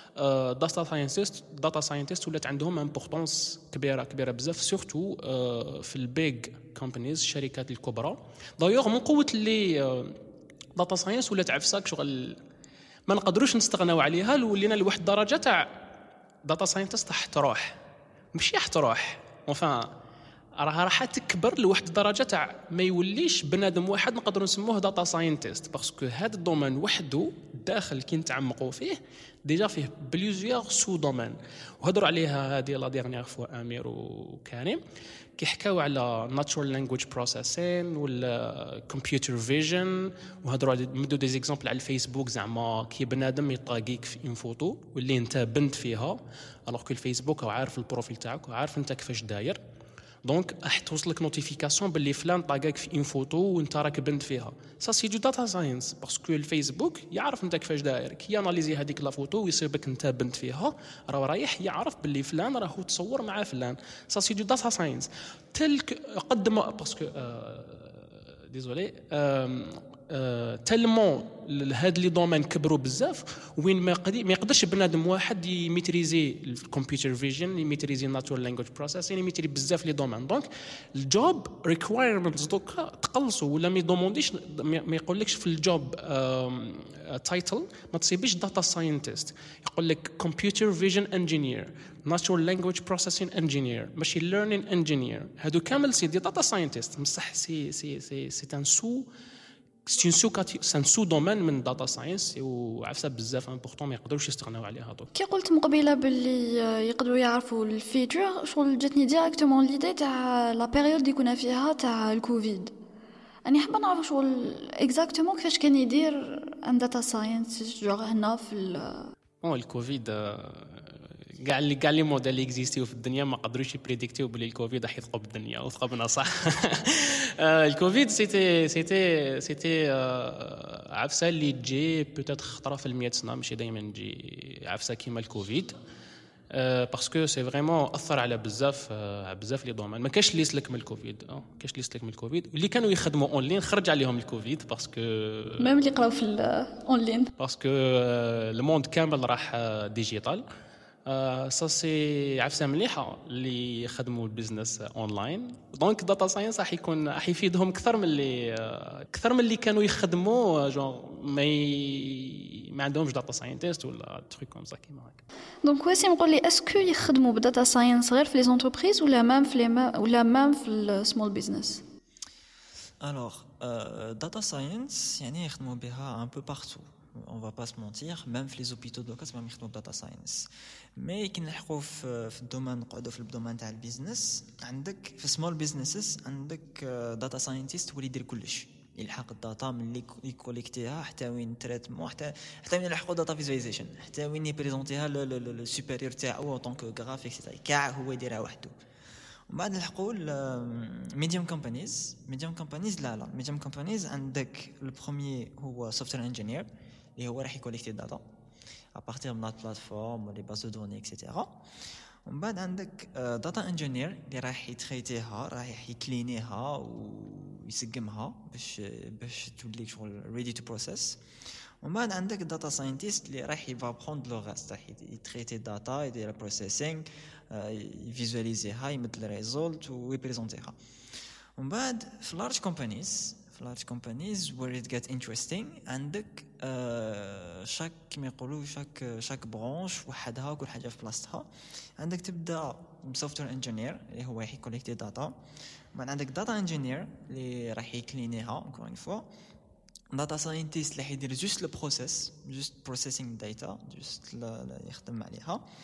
S2: داتا ساينتست ولات عندهم امبورطونس كبيره بزاف، سورتو في البيغ كومبانيز الشركات الكبرى. دايوغ من قوه اللي داتا ساينس ولات عفساك شغل ما نقدروش نستغناو عليها، ولينا لواحد الدرجه تاع داتا ساينتست تروح ماشي تروح وفا راح تكبر لواحد الدرجه تاع ما يوليش بنادم واحد نقدروا نسموه داتا ساينتست، باسكو هذا الدومين وحده داخل كي نتعمقوا فيه ديجا فيه بليزيور سو دومين. وهضروا عليها هذه لا ديرنيير فوا امير وكريم كي حكاو على ناتشورال لانجويج بروسيسين ولا كمبيوتر فيجن، وهضروا على مدوا دي زيكزامبل على الفيسبوك زعما كي بنادم يطاقيك في ان فوتو واللي انت بنت فيها، الوغ كو الفيسبوك عارف البروفيل تاعك وعارف انت كيفاش داير، دونك راح توصلك نوتيفيكاسيون باللي فلان طاقاك في ان فوتو وانت راك بنت فيها. سا سي دو داتا ساينس باسكو الفيسبوك يعرف انت كيفاش داير، كي اناليزي هذيك لا فوتو ويصيبك انت بنت فيها راه رايح يعرف باللي فلان راهو تصور مع فلان. سا سي دو داتا ساينس تلك قد ما باسكو ديزولي تلمون هاد لي دومين كبروا بزاف وين ما يقدرش بنادم واحد يميتريزي الكمبيوتر فيجن، يميتريزي الناتورال لانجويج بروسيسين، يميتري بزاف لي دومين. دونك الجوب ريكوايرمنتس دوكا تقلصوا ولا ما يدومونديش ما يقولكش في الجوب تايتل ما تصيبش داتا ساينتست، يقول لك كمبيوتر فيجن انجينير، ناتورال لانجويج بروسيسين انجينير، ماشين ليرنين انجينير، هادو كامل سي دي داتا ساينتست بصح سي ان سو دومين من داتا ساينس وعفسه بزاف امبورطون ما يقدروش يستغناو عليها. دوك
S1: كي قلت مقبله باللي يقدروا يعرفوا الفيتشر، شغل جاتني ديريكتومون ليدي تاع لا بيريود اللي كنا فيها تاع الكوفيد. اني حابه نعرف شغل اكزاكتومون كيفاش كان يدير ان داتا ساينس جوغ هنا في
S2: الكوفيد. كاع لي موديل اللي اكزيستيو في الدنيا ما قدروش يبريديكتيو بلي الكوفيد راح يثقب الدنيا وثقبنا صح. الكوفيد سيتي عفسه اللي تجي بوتيتر خطره في 100 سنه، ماشي دائما تجي عفسه كيما الكوفيد باسكو سي فريمون اثر على بزاف لي دومين. ما كاش اللي يسلك من الكوفيد، كاش اللي يسلك من الكوفيد، واللي كانوا يخدموا اونلاين خرج عليهم الكوفيد باسكو
S1: ميم اللي قراو في الاونلاين
S2: باسكو الموند كامل راح ديجيتال. سا سي عفسه مليحه اللي يخدموا البيزنس اونلاين. دونك داتا ساينس راح يفيدهم اكثر من اللي كانوا يخدموا جون ما عندهمش داتا ساينتست ولا تروك كوم سا كيما هكا.
S1: دونك واسي نقول لي اسكو يخدموا بداتا ساينس غير في لي زونتربريز ولا مام في السمول بيزنس؟
S3: Alors, data science, يعني يخدموا بها un peu partout. On va pas se mentir, même les hôpitaux de cas, même يخدموا data science. Mais كي نلحقوا في الدومين نقعدوا في الدومين تاع البيزنس، عندك في small businesses عندك data scientist واللي يدير كلش، يلحق الداتا من اللي يكوليكتيها حتى وين تريتمون، حتى وين يلحقوا داتا فيزواليزيشن، حتى وين يبريزونتيها للسوبيريور تاعو طونك غرافيك سيتاي كاع هو يديرها وحده. ومن بعد نلحقوا الميديوم كومبانيز لا ميديوم كومبانيز عندك البروميير هو سوفتوير انجينير اللي هو راح يكوليكتي الداتا ابارتير من البلاتفورم ولي باز دو دوني اكسيتيرا. ومن بعد عندك داتا انجينير اللي راح يتريتيها، راح يكلينيها ويسقمها باش تولي شغل ريدي تو بروسيس. ومن بعد عندك داتا ساينتيست اللي راح يفا بروند لو غاست، راح يتريتي الداتا، يدير بروسيسينغ، يفيزواليزيها، يمد الريزولت ويبريزونتيها. ومن بعد في لارج كومبانيز where it gets interesting عندك شاك كما يقولوا شاك برانش وحدها كل حاجه في بلاصتها. عندك تبدا سوفتوير انجينير اللي هو راح يكوليكتي داتا، بعد عندك داتا انجينير اللي راح يكلينيها encore une fois، داتا ساينتيست اللي حيدير جوست لو بروسيس، جوست بروسيسينغ داتا، جوست يخدم عليها.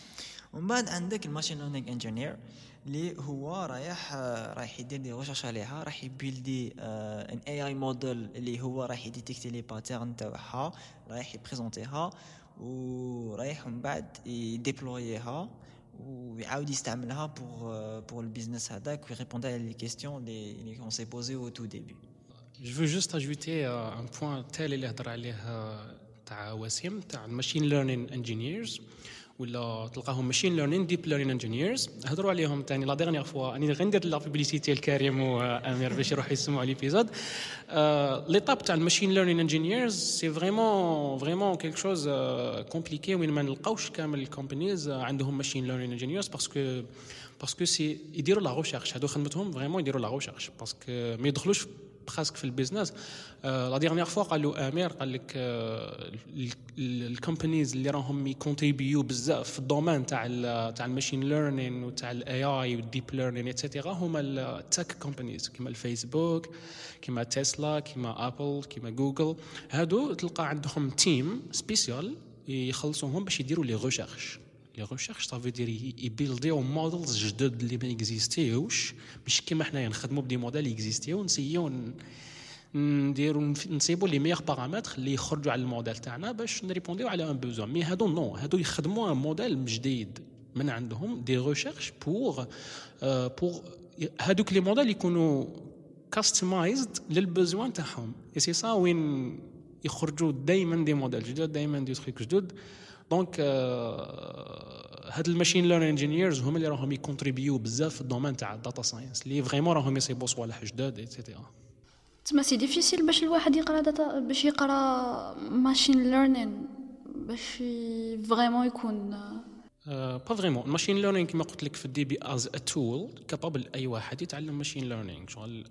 S3: ومن بعد عندك الماشين ليرنينغ انجينير اللي هو رايح يدير دي ريشيرش عليها، راح يبيلدي ان اي اي موديل اللي هو راح يديتيكتي لي باترن تاعها، رايح يبريزونتيها ورايح من بعد يديبلوييها ويعاود يستعملها pour le business هذاك ويريبوندي على لي كيستيون اللي on s'est posé au tout début.
S2: Je veux juste ajouter un point tel اللي هضر عليه تاع وسيم تاع الماشين ليرنينغ انجينيرز ولا تلقاهم ماشين ليرنينغ ديب ليرنينغ انجينيرز هضروا عليهم ثاني لا ديرنيير فوا اني غندير لا بوبليسيتي الكريم وامير باش يروحوا يسمعوا ليبيزود ليطاب تاع الماشين ليرنينغ انجينيرز سي فريمون كيلك شوز كومبليكي وين ما نلقاوش كامل الكومبانيز عندهم ماشين ليرنينغ انجينيرز باسكو سي يديروا لا ريشيرش هادو خدمتهم فريمون يديروا لا ريشيرش باسكو ما يدخلوش براسك في البيزنس. لا ديرنيير فوا قالوا امير قال لك الكومبانيز اللي راهم يكونتريبيو بزاف في الدومين تاع الماشين ليرنينغ وتاع الاي اي والديب ليرنينغ ايتترا هما التك كومبانيز كيما الفيسبوك كيما تسلا كيما ابل كيما جوجل. هادو تلقى عندهم تيم سبيسيال يخلصوهم باش يديروا لي ريشيرش. لي ريشيرش صافي يدير يبيلديو موديلز جدد اللي ما اكزيستيوش باش كيما حنايا نخدموا بدي موديل اكزيستيو ونسيو نديروا نصيبوا لي ميغ بارامتر اللي يخرجوا على الموديل تاعنا باش نريبونديو على ان بوزون. مي هادو نو هادو يخدموا ان موديل جديد من عندهم دي ريشيرش بور هادوك لي موديل يكونوا كاستمايزد للبوزوان تاعهم. اي سي سا وين يخرجوا دائما دي موديل جدد دائما دي تريك جدد. دونك هاد الماشين ليرنينغ انجينيرز هما اللي راهم يكونتريبيو بزاف في الدومين تاع الداتا ساينس اللي فريمون راهم يصيبوا صوالح جداد ايتترا.
S1: تما سي ديفيسيل باش الواحد يقرا داتا باش يقرا ماشين ليرنينغ باش فريمون يكون
S2: با فريمون الماشين ليرنينغ كما قلت لك في الديبي از ا تول كابابل اي واحد يتعلم ماشين ليرنينغ شغل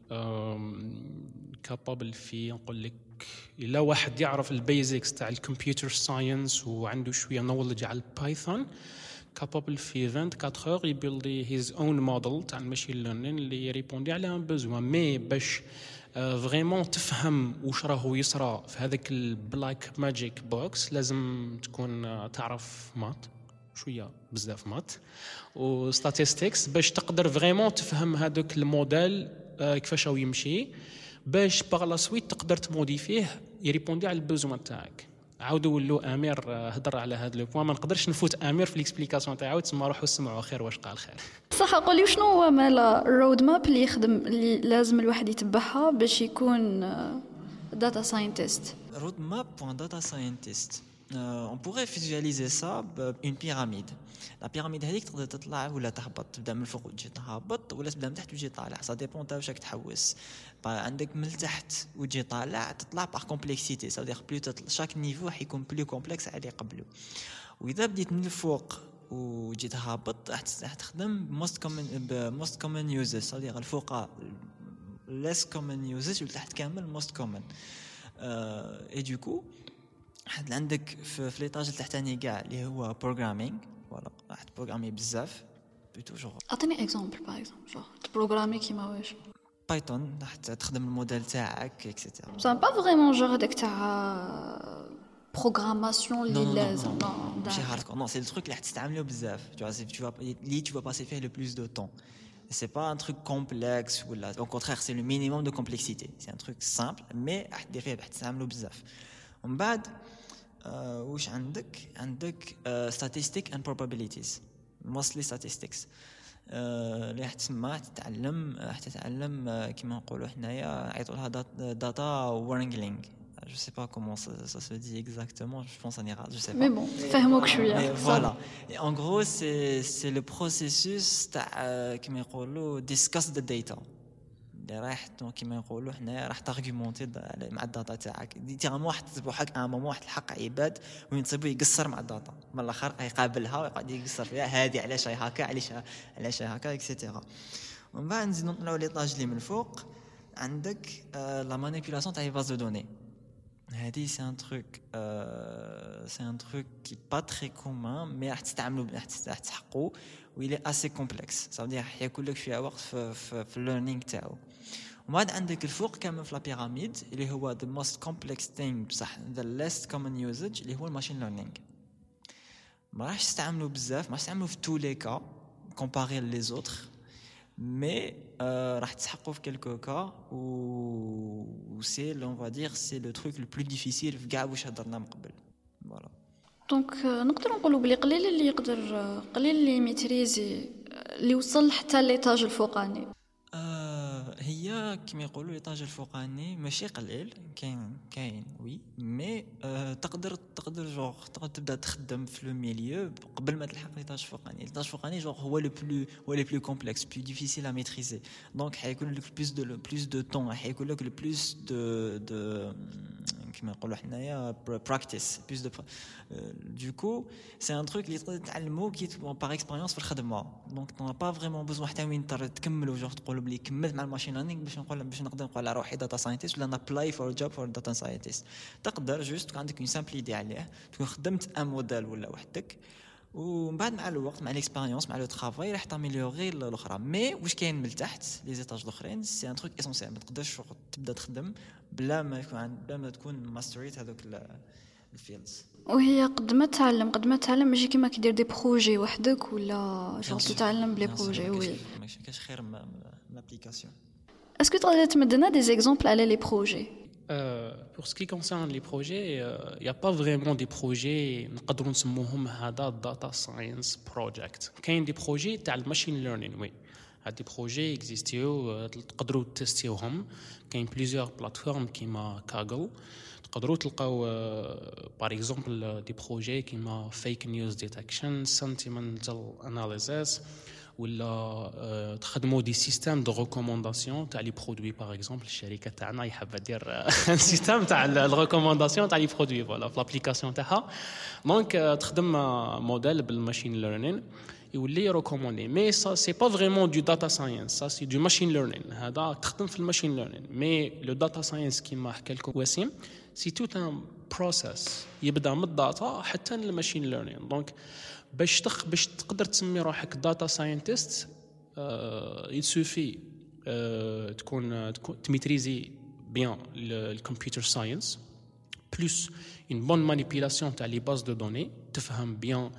S2: كابابل في نقول لك الا واحد يعرف البيزكس تاع الكمبيوتر ساينس وعنده شويه نولج على البايثون كابابل في 24 اور يبيلدي هيز اون موديل تاع الماشين ليرنينغ اللي يريبوندي على ان بوزوان. مي باش فريمون تفهم واش راهو يصرى في هذاك البلاك ماجيك بوكس لازم تكون تعرف مات شويه بزاف مات وستاتستكس باش تقدر فريمون تفهم هذاك الموديل كيفاش هو يمشي باش باغ لا سويت تقدر تموديفيه يريبوندي على البوزوان تاعك. عاودوا ولو امير هضر على هذا لو بوين ما نقدرش نفوت امير في ليكسبليكاسيون تاعو تسمى روحوا سمعوا خير واش قال خير.
S1: صح قولي شنو هو مال الرود ماب اللي يخدم اللي لازم الواحد يتبعها باش يكون داتا ساينتست.
S3: رود ماب بوان داتا ساينتست on pourrait visualiser ça une pyramide. La pyramide هذيك تقدر تطلع ولا تهبط تبدا من الفوق وتجي تهبط ولا تبدا من تحت وتجي طالع ça dépend تاع واش راك تحوس. عندك من تحت وتجي طالع تطلع par complexité ça veut dire plus chaque niveau حيكون plus complexe على قبله. واذا بديت من الفوق وجيت هابط راح تخدم most common uses ça veut dire الفوق less common uses والتحت كامل most common et du coup حد عندك في ليطاج التحتاني كاع اللي هو بروغرامينغ فوالا راح تبروغرامي بزاف توجور.
S1: اعطيني اكزامبل باغ اكزومبل جو تبروغرامي كيما واش
S3: بايثون راح تخدم الموديل تاعك اكسيتيرا.
S1: سا با فريمون جو هذاك تاع بروغراماسيون اللي لازم
S3: ماشي هاردكور نو سي التروك اللي راح تستعملو بزاف tu vas passer faire le plus de temps. C'est pas un truc complexe ou là au contraire c'est le minimum de complexité. C'est un truc simple mais راح دير فيه راح تستعملو بزاف. ومن بعد واش عندك statistics and probabilities mostly statistics اللي راح تسمى تتعلم كيما نقولوا حنايا عيطوا لها data wrangling. Je sais pas comment ça se dit exactement, je pense en ira, je sais pas.
S1: Mais bon, فهموك شويه.
S3: Voilà. Et en gros c'est le processus تاع كيما يقولوا discuss the data. راح كيما نقولوا حنا راح تارغومونتي مع الداتا تاعك ديتيرامون واحد تصبحك ان مومون واحد الحق عباد وين تصيبو يقصر مع الداتا من الاخر يقابلها ويقعد يقصر فيها هذه علاش هي هكا علاش هي هكا اكسيتيرا. ومن بعد نزيدو نطلعوا لي طاج اللي من الفوق عندك لا مانيبيولاسيون تاع لي باز دو دوني. هذه سي ان تروك كي با تري كومون مي راح تستعملوا راح تحقوا ويلي اسي كومبلكس ça veut dire ياكل لك شويه وقت في الليرنينغ تاعو. ومن بعد عندك الفوق كامل في لا بيراميد اللي هو the most complex thing بصح the least common usage اللي هو الماشين ليرنينغ. ما راحش تستعملوا بزاف، ما راحش تستعملوا في tous les cas comparé les autres mais راح تسحقوا في quelques cas ou c'est on va dire c'est le truc le plus difficile في كاع واش هضرنا من قبل. voilà.
S1: دونك نقدر نقولوا بلي قليل اللي يقدر قليل اللي ميتريزي اللي وصل حتى ليطاج الفوقاني.
S3: هي كما يقولوا ليطاج الفوقاني ماشي قليل، كاين وي مي تقدر جوغ تقدر تبدا تخدم في لو ميليو قبل ما تلحق ليطاج الفوقاني. ليطاج الفوقاني جوغ هو لو بلو كومبلكس بلو ديفيسيل ا ميتريزي، دونك حيكون لك بلوس دو طون، حيكون لك بلوس دو كما نقولوا حنايا براكتيس بلوس دو du coup c'est un truc اللي تقدر تعلمو كي باغ اكسبيريونس في الخدمه. دونك طون با فريمون بوزون حتى وين تكملوا جوغ تقولوا بلي كملت مع الماشين ليرنينغ باش نقدر نقول على روحي داتا ساينتيست ولا نابلاي فور جوب فور داتا ساينتيست. تقدر جوست تكون عندك اون سامبل ايدي عليه، تكون خدمت ان موديل ولا وحدك، ومن بعد مع الوقت مع ليكسبيريونس مع لو ترافاي راح تاميليوري الاخرى. مي واش كاين من تحت لي زيتاج الاخرين سي ان تروك اسونسيال، ما تقدرش تبدا تخدم بلا ما تكون ماستريت هذوك الفيلدز.
S1: وهي قد ما تعلم ماشي كيما كيدير دي بروجي وحدك ولا شغل تتعلم بلي بروجي. وي
S3: ماشي كاش خير من الابليكاسيون.
S1: اسكو تقدر تمدنا دي زيكزامبل على لي بروجي؟
S2: Pour ce qui concerne les projets, il n'y a pas vraiment des projets نقدروا نسموهم هذا data science project. كاين des projets تاع machine learning. oui هاد des projets existيو تقدروا تستيوهم. كاين plusieurs plateformes كيما Kaggle، تقدروا تلقاو par exemple des projets كيما fake news detection, sentimental analysis، ولا تخدموا دي سيستيم دو ريكومونداسيون تاع لي برودوي. باغ اكزومبل الشركه تاعنا يحب دير سيستيم تاع الريكومونداسيون تاع لي برودوي فوالا في لابليكاسيون تاعها. دونك تخدم موديل بالماشين ليرنين يولي ريكوموندي. مي سا سي با فريمون دو داتا ساينس، سا سي دو ماشين ليرنين. هذا تخدم في الماشين ليرنين. مي لو داتا ساينس كيما حكى لكم وسيم سي توت ان بروسيس يبدا من الداتا حتى للماشين ليرنين. دونك باش تقدر تسمي روحك داتا ساينتيست يسوفي تكون تميتريزي بيان الكمبيوتر ساينس بلس اون بون مانيبيلاسيون تاع لي باز دو دوني، تفهم بيان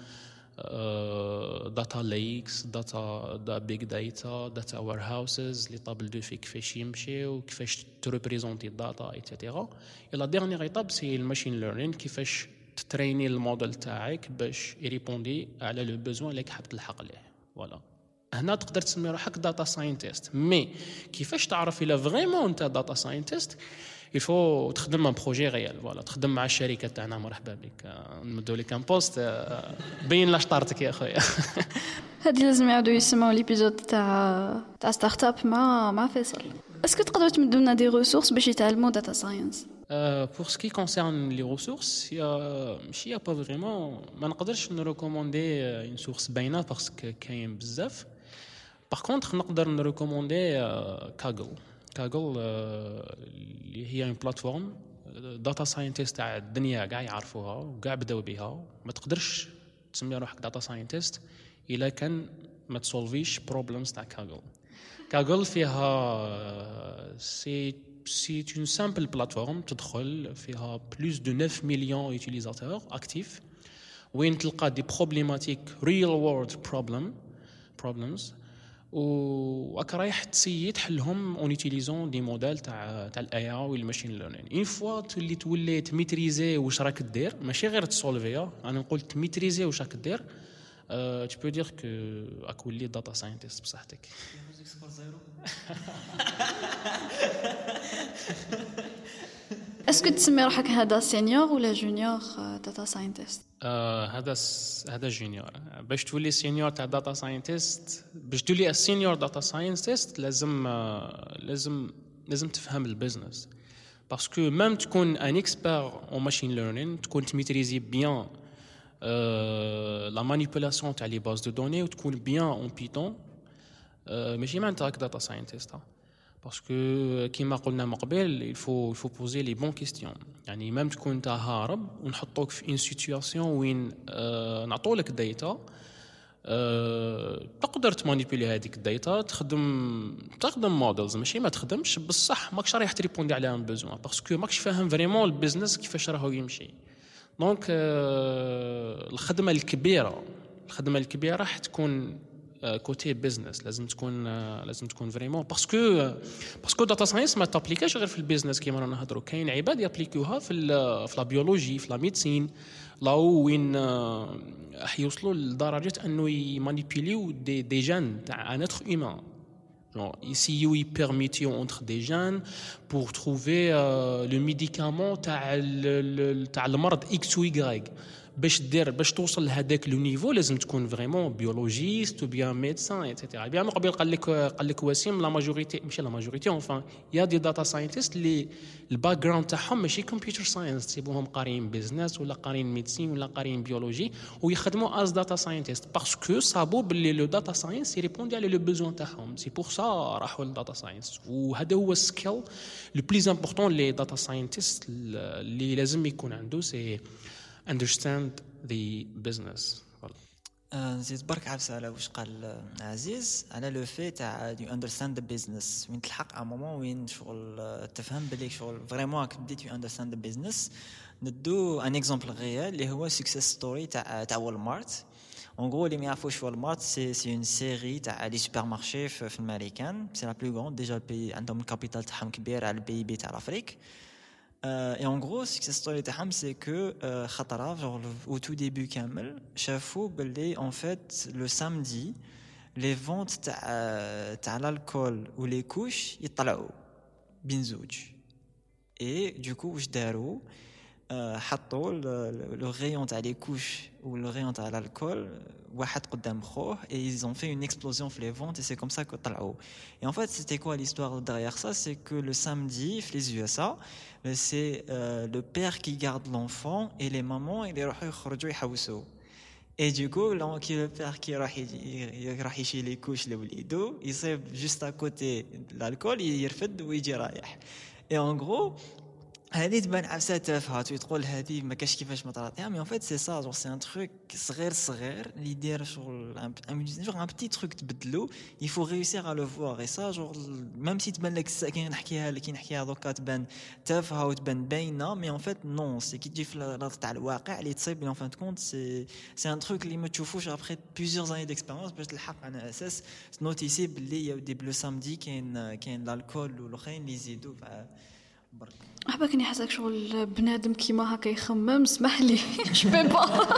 S2: داتا ليكس، داتا بيج داتا وير هاوسز، لي طابل دو في كيفاش يمشيو، كيفاش تريبريزونتي الداتا ايتترا. لا ديرنيير ايتاب سي الماشين ليرنين، كيفاش تتريني الموديل تاعك باش يريبوندي على لو بوزوان اللي حاب تلحق ليه. فوالا هنا تقدر تسمي روحك داتا ساينتيست. مي كيفاش تعرف الا فريمون انت داتا ساينتيست؟ يفو تخدم ان بروجي ريال. فوالا تخدم مع الشركه تاعنا، مرحبا بك، نمدوا لك ان بوست بين لاشطارتك يا خويا.
S1: هادي لازم يعاودوا يسمعوا ليبيزود تاع ستارت اب مع فيصل. اسكو تقدروا تمدوا لنا دي ريسورس باش يتعلموا داتا ساينس؟
S2: Pour ce qui concerne les ressources, il y a pas vraiment. ما نقدرش نريكوموندي une source باينه parce que كاين بزاف. Par contre نقدر نريكوموندي Kaggle اللي هي une plateforme داتا ساينتيست تاع الدنيا كاع يعرفوها وكاع بداو بها. ما تقدرش تسمي روحك داتا ساينتيست الا كان ما تسولفيش بروبلمز تاع Kaggle فيها c'est une simple plateforme تدخل فيها plus de 9 millions utilisateurs actifs وين تلقى des problématiques real world problems وراك رايح تسيي تحلهم en utilisant des modèles تاع الاي اي والماشين ليرنين. اون فوا تولي تميتريزي واش راك دير، ماشي غير تسولفيها، انا نقول تميتريزي واش راك دير، tu peux dire que راك ولي داتا ساينتيست بصحتك.
S1: اسكو تسمي روحك هذا سينيور ولا جونيور داتا ساينتيست؟
S2: هذا جونيور. باش تولي سينيور تاع داتا ساينتيست، باش تولي سينيور داتا ساينتيست لازم تفهم البيزنس. باسكو ميم تكون ان اكسبير اون ماشين ليرنين، تكون تميتريزي بيان لا مانيبيولاسيون تاع لي باز دو دوني وتكون بيان اون بيتون، ماشي معناتها راك داتا ساينتيست. باسكو كيما قلنا من قبل الفو بوزي لي بون كيستيون. يعني ميم تكون انت هارب ونحطوك في ان سيتوياسيون وين نعطولك داتا، تقدر تمانيبيلي هذيك الداتا، تخدم موديلز، ماشي ما تخدمش بصح ماكش رايح تريبوندي على ان بوزوان باسكو ماكش فاهم فريمون البيزنس كيفاش راهو يمشي. دونك الخدمه الكبيره حتكون كوتي بيزنس. لازم تكون فريمون باسكو داتا ساينس ما تابليكاش غير في البيزنس كيما رانا نهضروا. كاين عباد يابليكوها في لا بيولوجي، في لا ميديسين، لا وين حيوصلوا لدرجه انه يمانيبيليو دي جين تاع ان اتر هيومان. Essayer de permettre entre des jeunes pour trouver le médicament تاع المرض X ou Y. باش توصل لهذاك لو نيفو لازم تكون فريمون بيولوجيست ou bien médecin etc. بيان من قبل قال لك وسيم لا ماجوريتي، ماشي لا ماجوريتي، enfin يا دي داتا ساينتست اللي الباك جراوند تاعهم ماشي كمبيوتر ساينس، تسيبوهم قارين بيزنس ولا قارين ميديسين ولا قارين بيولوجي ويخدموا از داتا ساينتست باسكو صابوا باللي لو داتا ساينس يريبوندي على لو بوزوان تاعهم. سي بور سا راحوا للداتا ساينس. وهذا هو السكيل لو بليز امبورطون لي داتا ساينتست اللي لازم يكون عنده، سي understand the business.
S3: نزيد برك عفسه على واش قال عزيز على لو في تاع يو اندرستاند ذا بيزنس، وين تلحق ا مومون وين شغل تفهم بلي شغل فريمون راك بديت يو اندرستاند ذا بيزنس. ندو ان اكزامبل ريال اللي هو سكسيس ستوري تاع والمارت. En gros, les meilleurs Walmart, c'est une série تاع les supermarchés في الامريكان. C'est la plus grande. Déjà, le pays عندهم الكابيتال تاعهم كبير على البي بي تاع الافريك. Et en gros, success story تاعهم c'est que خطرة genre au tout début كامل شافوا باللي en fait le samedi les ventes تاع l'alcool ou les couches يطلعوا بين زوج. Et du coup واش داروا حطوا le rayon تاع les couches ou le rayon تاع l'alcool واحد قدام خوه et ils ont fait une explosion في les ventes et c'est comme ça que طلعوا. Et en fait c'était quoi l'histoire derrière ça, c'est que le samedi في les USA c'est le père qui garde l'enfant et les mamans ils يروحوا يخرجوا يحوسوا. Et du coup le père qui راح يشيل les couches لوليدو يصيب juste à côté l'alcool يرفد ويجي رايح. Et en gros هذه تبان عفسه تافهه تقول هذه ما كاش كيفاش ما طراتها، مي ان فيت سي سا جور سي ان تروك صغير اللي يدير شغل ان بتي تروك تبدلو يفو ريوسير ا لو فوار. اي سا جور ميم سي تبان لك كي نحكيها دوكا تبان تافهه وتبان باينه، مي ان فيت نون سي كي تجي في الارض تاع الواقع اللي تصيب ان فان كونت سي ان تروك اللي ما تشوفوش ابري بليزيور اني ديكسبيريونس باش تلحق على اساس نوتيسي باللي يودي بلو سامدي كاين الالكول والاخرين اللي يزيدوا برك.
S1: أحبك إني حاسك شغل بنادم كيما هكا يخمم، اسمح لي je peux pas.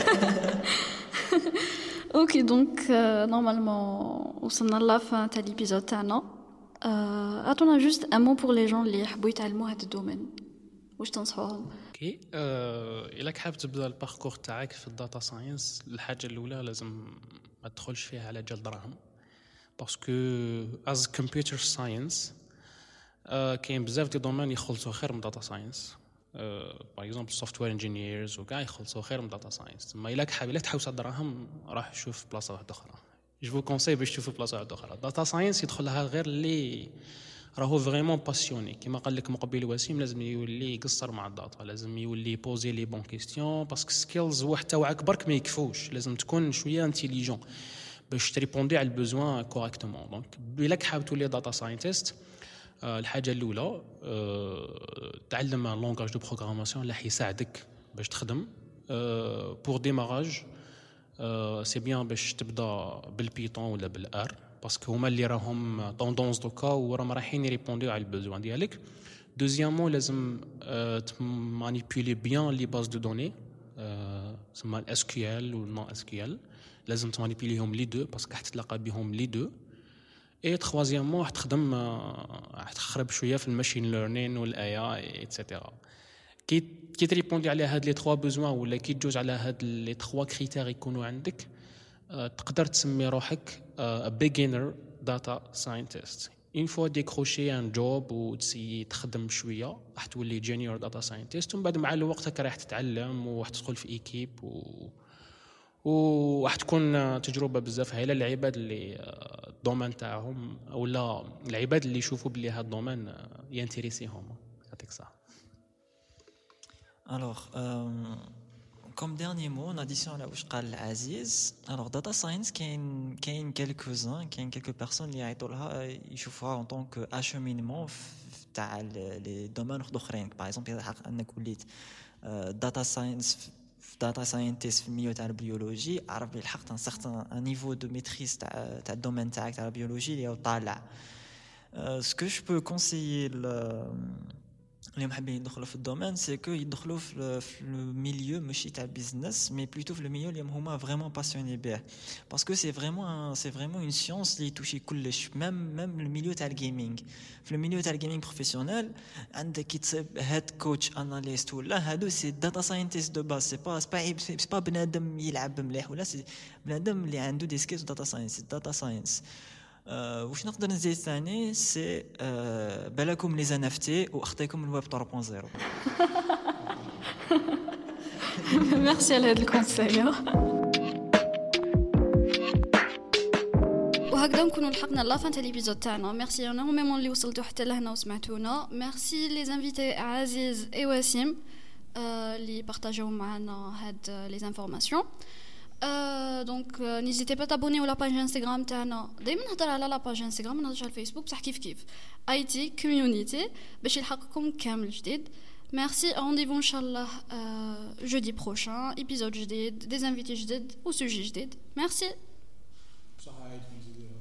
S1: اوكي دونك نورمالمون وصلنا لا فان تاع ليبيزود تاعنا. عطونا جوست ان مو بور لي جون اللي يحبوا يتعلموا هذا الدومين، واش تنصحوهم؟
S2: اوكي الا حاب تبدا الباركور تاعك في الداتا ساينس، الحاجه الاولى لازم ما تدخلش فيها على جال دراهم، باسكو از كمبيوتر ساينس كاين بزاف دي دومين يخلصوا خير من داتا ساينس. باغ اكزومبل سوفتوير انجينيرز وكاع يخلصوا خير من داتا ساينس. ما الا حاب تحوس على الدراهم راح شوف بلاصه واحده اخرى. جو كونساي باش تشوفوا بلاصه واحده اخرى. داتا ساينس يدخلها غير اللي راهو فريمون باسيوني، كيما قال لك مقبل وسيم لازم يولي يقصر مع الداتا، لازم يولي بوزي لي بون كيستيون، باسكو سكيلز وحده وعك برك ما يكفوش، لازم تكون شويه انتيليجون باش تريبوندي على البوزوان كوريكتومون. دونك الا حاب تولي داتا ساينتست، الحاجه الاولى تعلم لونغاج دو بروغراماسيون اللي حيساعدك باش تخدم. بور ديماراج سي بيان باش تبدا بالبيتون ولا بالار، باسكو هما اللي راهم طوندونس دوكا وراهم رايحين يريبونديو على البوزوان ديالك. دوزيامون لازم تمانيبيولي بيان لي باز دو دوني، تسمى الاس كيو ال والنون اس كيو ال، لازم تمانيبيوليهم لي دو باسكو حتتلاقى بهم لي دو. اي تخوازيامون تخدم تخرب شويه في الماشين ليرنين والاي اي ايتترا. كي تريبوندي على هاد لي 3 بوزوان ولا كي تجوز على هاد لي 3 كريتير يكونوا عندك، تقدر تسمي روحك بيجينر داتا ساينتست. اون فوا ديكروشي ان جوب وتسي تخدم شويه راح تولي جونيور داتا ساينتست، ومن بعد مع الوقت راح تتعلم وراح تدخل في ايكيب وراح تكون تجربه بزاف هايله للعباد اللي الدومين تاعهم ولا العباد اللي يشوفوا بلي هذا الدومين ينتريسيهم. يعطيك الصحه.
S3: Alors, comme dernier mot, en addition à ce qu'a dit Aziz, alors data science, il y a quelques-uns, il y a quelques personnes qui ils voient en tant qu'acheminement dans les domaines d'autres. Par exemple, il y a داتا ساينس داتا ساينتيست في الميو تاع البيولوجي عرف بالحق ان سارتان ان نيفو دو ميتريز تاع الدومين تاعك تاع البيولوجي اللي هو طالع. سكو جو بو كونسيي اللي محبين يدخلوا في الدومين سي كو يدخلوا في الميليو ماشي تاع بيزنس مي بلوتو في الميليو اللي هما فريمون باسيوني بيه باسكو سي فريمون اون سيونس اللي توشي كلش ميم الميليو تاع الجيمنج. في الميليو تاع الجيمنج بروفيسيونيل عندك كي تصيب هيد كوتش اناليست ولا هادو سي داتا ساينتيست دو باز سي با بنادم يلعب مليح ولا سي بنادم اللي عنده دي سكيلز داتا ساينس داتا ساينس. واش نقدر نزيد ثاني سي بالكم لي زانفتي واخطيكم الويب 3.0.
S1: ميرسي على هذا الكونساي. وهكذا نكونوا لحقنا لافان تاع ليبيزود تاعنا. ميرسي انورميمون اللي وصلتوا حتى لهنا وسمعتونا. ميرسي لي زانفيتي عزيز اي وسيم اللي بارطاجيو معنا هاد لي انفورماسيون. دونك نيزيتي با تابوني ولا باج انستغرام تاعنا. دائما نهضر على لا باج انستغرام نهضرش على الفيسبوك بصح كيف اي تي كوميونيتي باش يلحقكم كامل جديد. ميرسي رونديفو ان شاء الله جودي بروشان ايبيزود جديد دي انفيتي جديد وسوجي جديد. ميرسي.